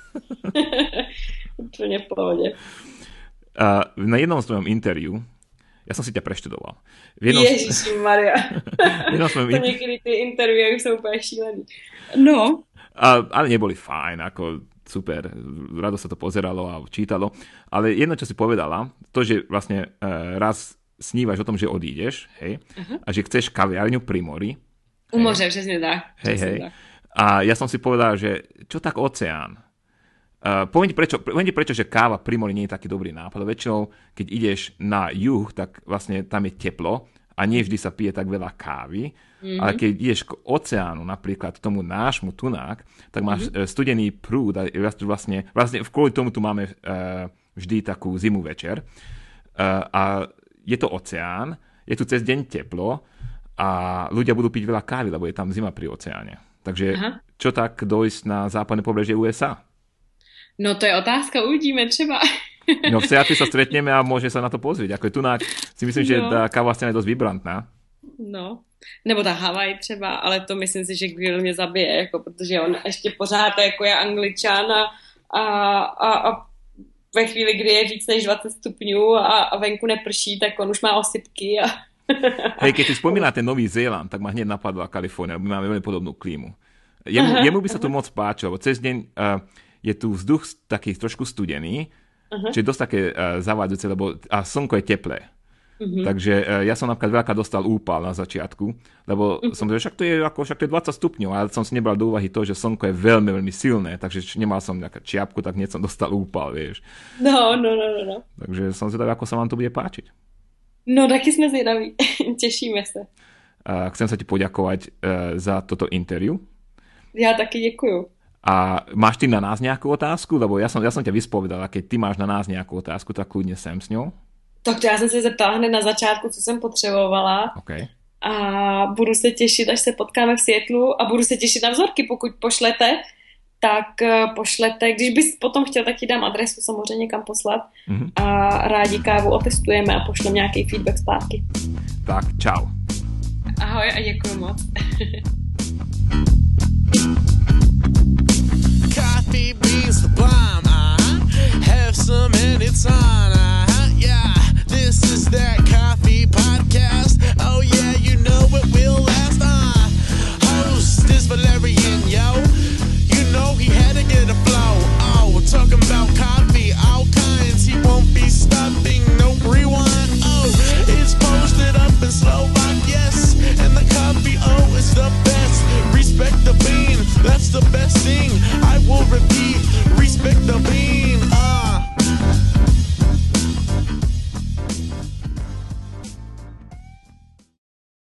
Úplne v pohode. Na jednom svojom interviu, ja som si ťa preštudoval. Ježišimaria. To niekedy tie interview už sú úplne šílený. No. Ale neboli fajn, ako super, rado sa to pozeralo a čítalo, ale jedno, čo si povedala, to, že vlastne raz snívaš o tom, že odídeš, hej, a že chceš kaviarňu pri mori. U moře, přesne tak. Hej. A ja som si povedal, že čo tak oceán? Poviem ti prečo, že káva pri mori nie je taký dobrý nápad. Väčšinou, keď ideš na juh, tak vlastne tam je teplo a nie vždy sa pije tak veľa kávy. Ale keď ideš k oceánu, napríklad tomu nášmu tunák, tak máš studený prúd a vlastne kvôli tomu tu máme vždy takú zimu večer. A je to oceán, je tu cez deň teplo a ľudia budú piť veľa kávy, lebo je tam zima pri oceáne. Takže čo tak dojsť na západné pobrežie USA? No to je otázka, uvidíme třeba. No v Seattle sa stretneme a môže sa na to pozrieť. Ako je tunák, si myslím, že tá kávová scéna je dosť vibrantná. No, nebo ta Havaj třeba, ale to myslím si, že Grill mě zabije, jako, protože on ještě pořád jako je Angličan a ve chvíli, kdy je víc než 20 stupňů a venku neprší, tak on už má osypky. Hej, keď si spomínala ten Nový Zéland, tak ma hneď napadla Kalifornia, my máme veľmi podobnú klímu. Jemu by sa tu moc páčilo, lebo cez deň je tu vzduch taký trošku studený, čo je dosť také zavádzajúce, lebo a slnko je teplé. Takže ja som napríklad veľká dostal úpal na začiatku, lebo som povedal, však to je 20 stupňov, ale som si nebral do úvahy to, že slnko je veľmi, veľmi silné, takže nemal som nejakú čiapku, tak hneď som dostal úpal, vieš. No. Takže som zvedavý, ako sa vám to bude páčiť. No, taky sme zvedaví. Tešíme sa. Chcem sa ti poďakovať za toto interview. Ja taky děkuju. A máš ty na nás nejakú otázku? Lebo ja som ťa vyspovedala, keď ty máš na nás nejakú otázku, tak kľudne sem s ňou. Tak já jsem se zeptala hned na začátku, co jsem potřebovala. Okay. A budu se těšit, až se potkáme v Seattlu a budu se těšit na vzorky, pokud pošlete, tak pošlete, když bys potom chtěl, tak ti dám adresu samozřejmě kam poslat a rádi kávu otestujeme a pošlem nějaký feedback zpátky. Tak, čau. Ahoj a děkuji moc. Coffee beans,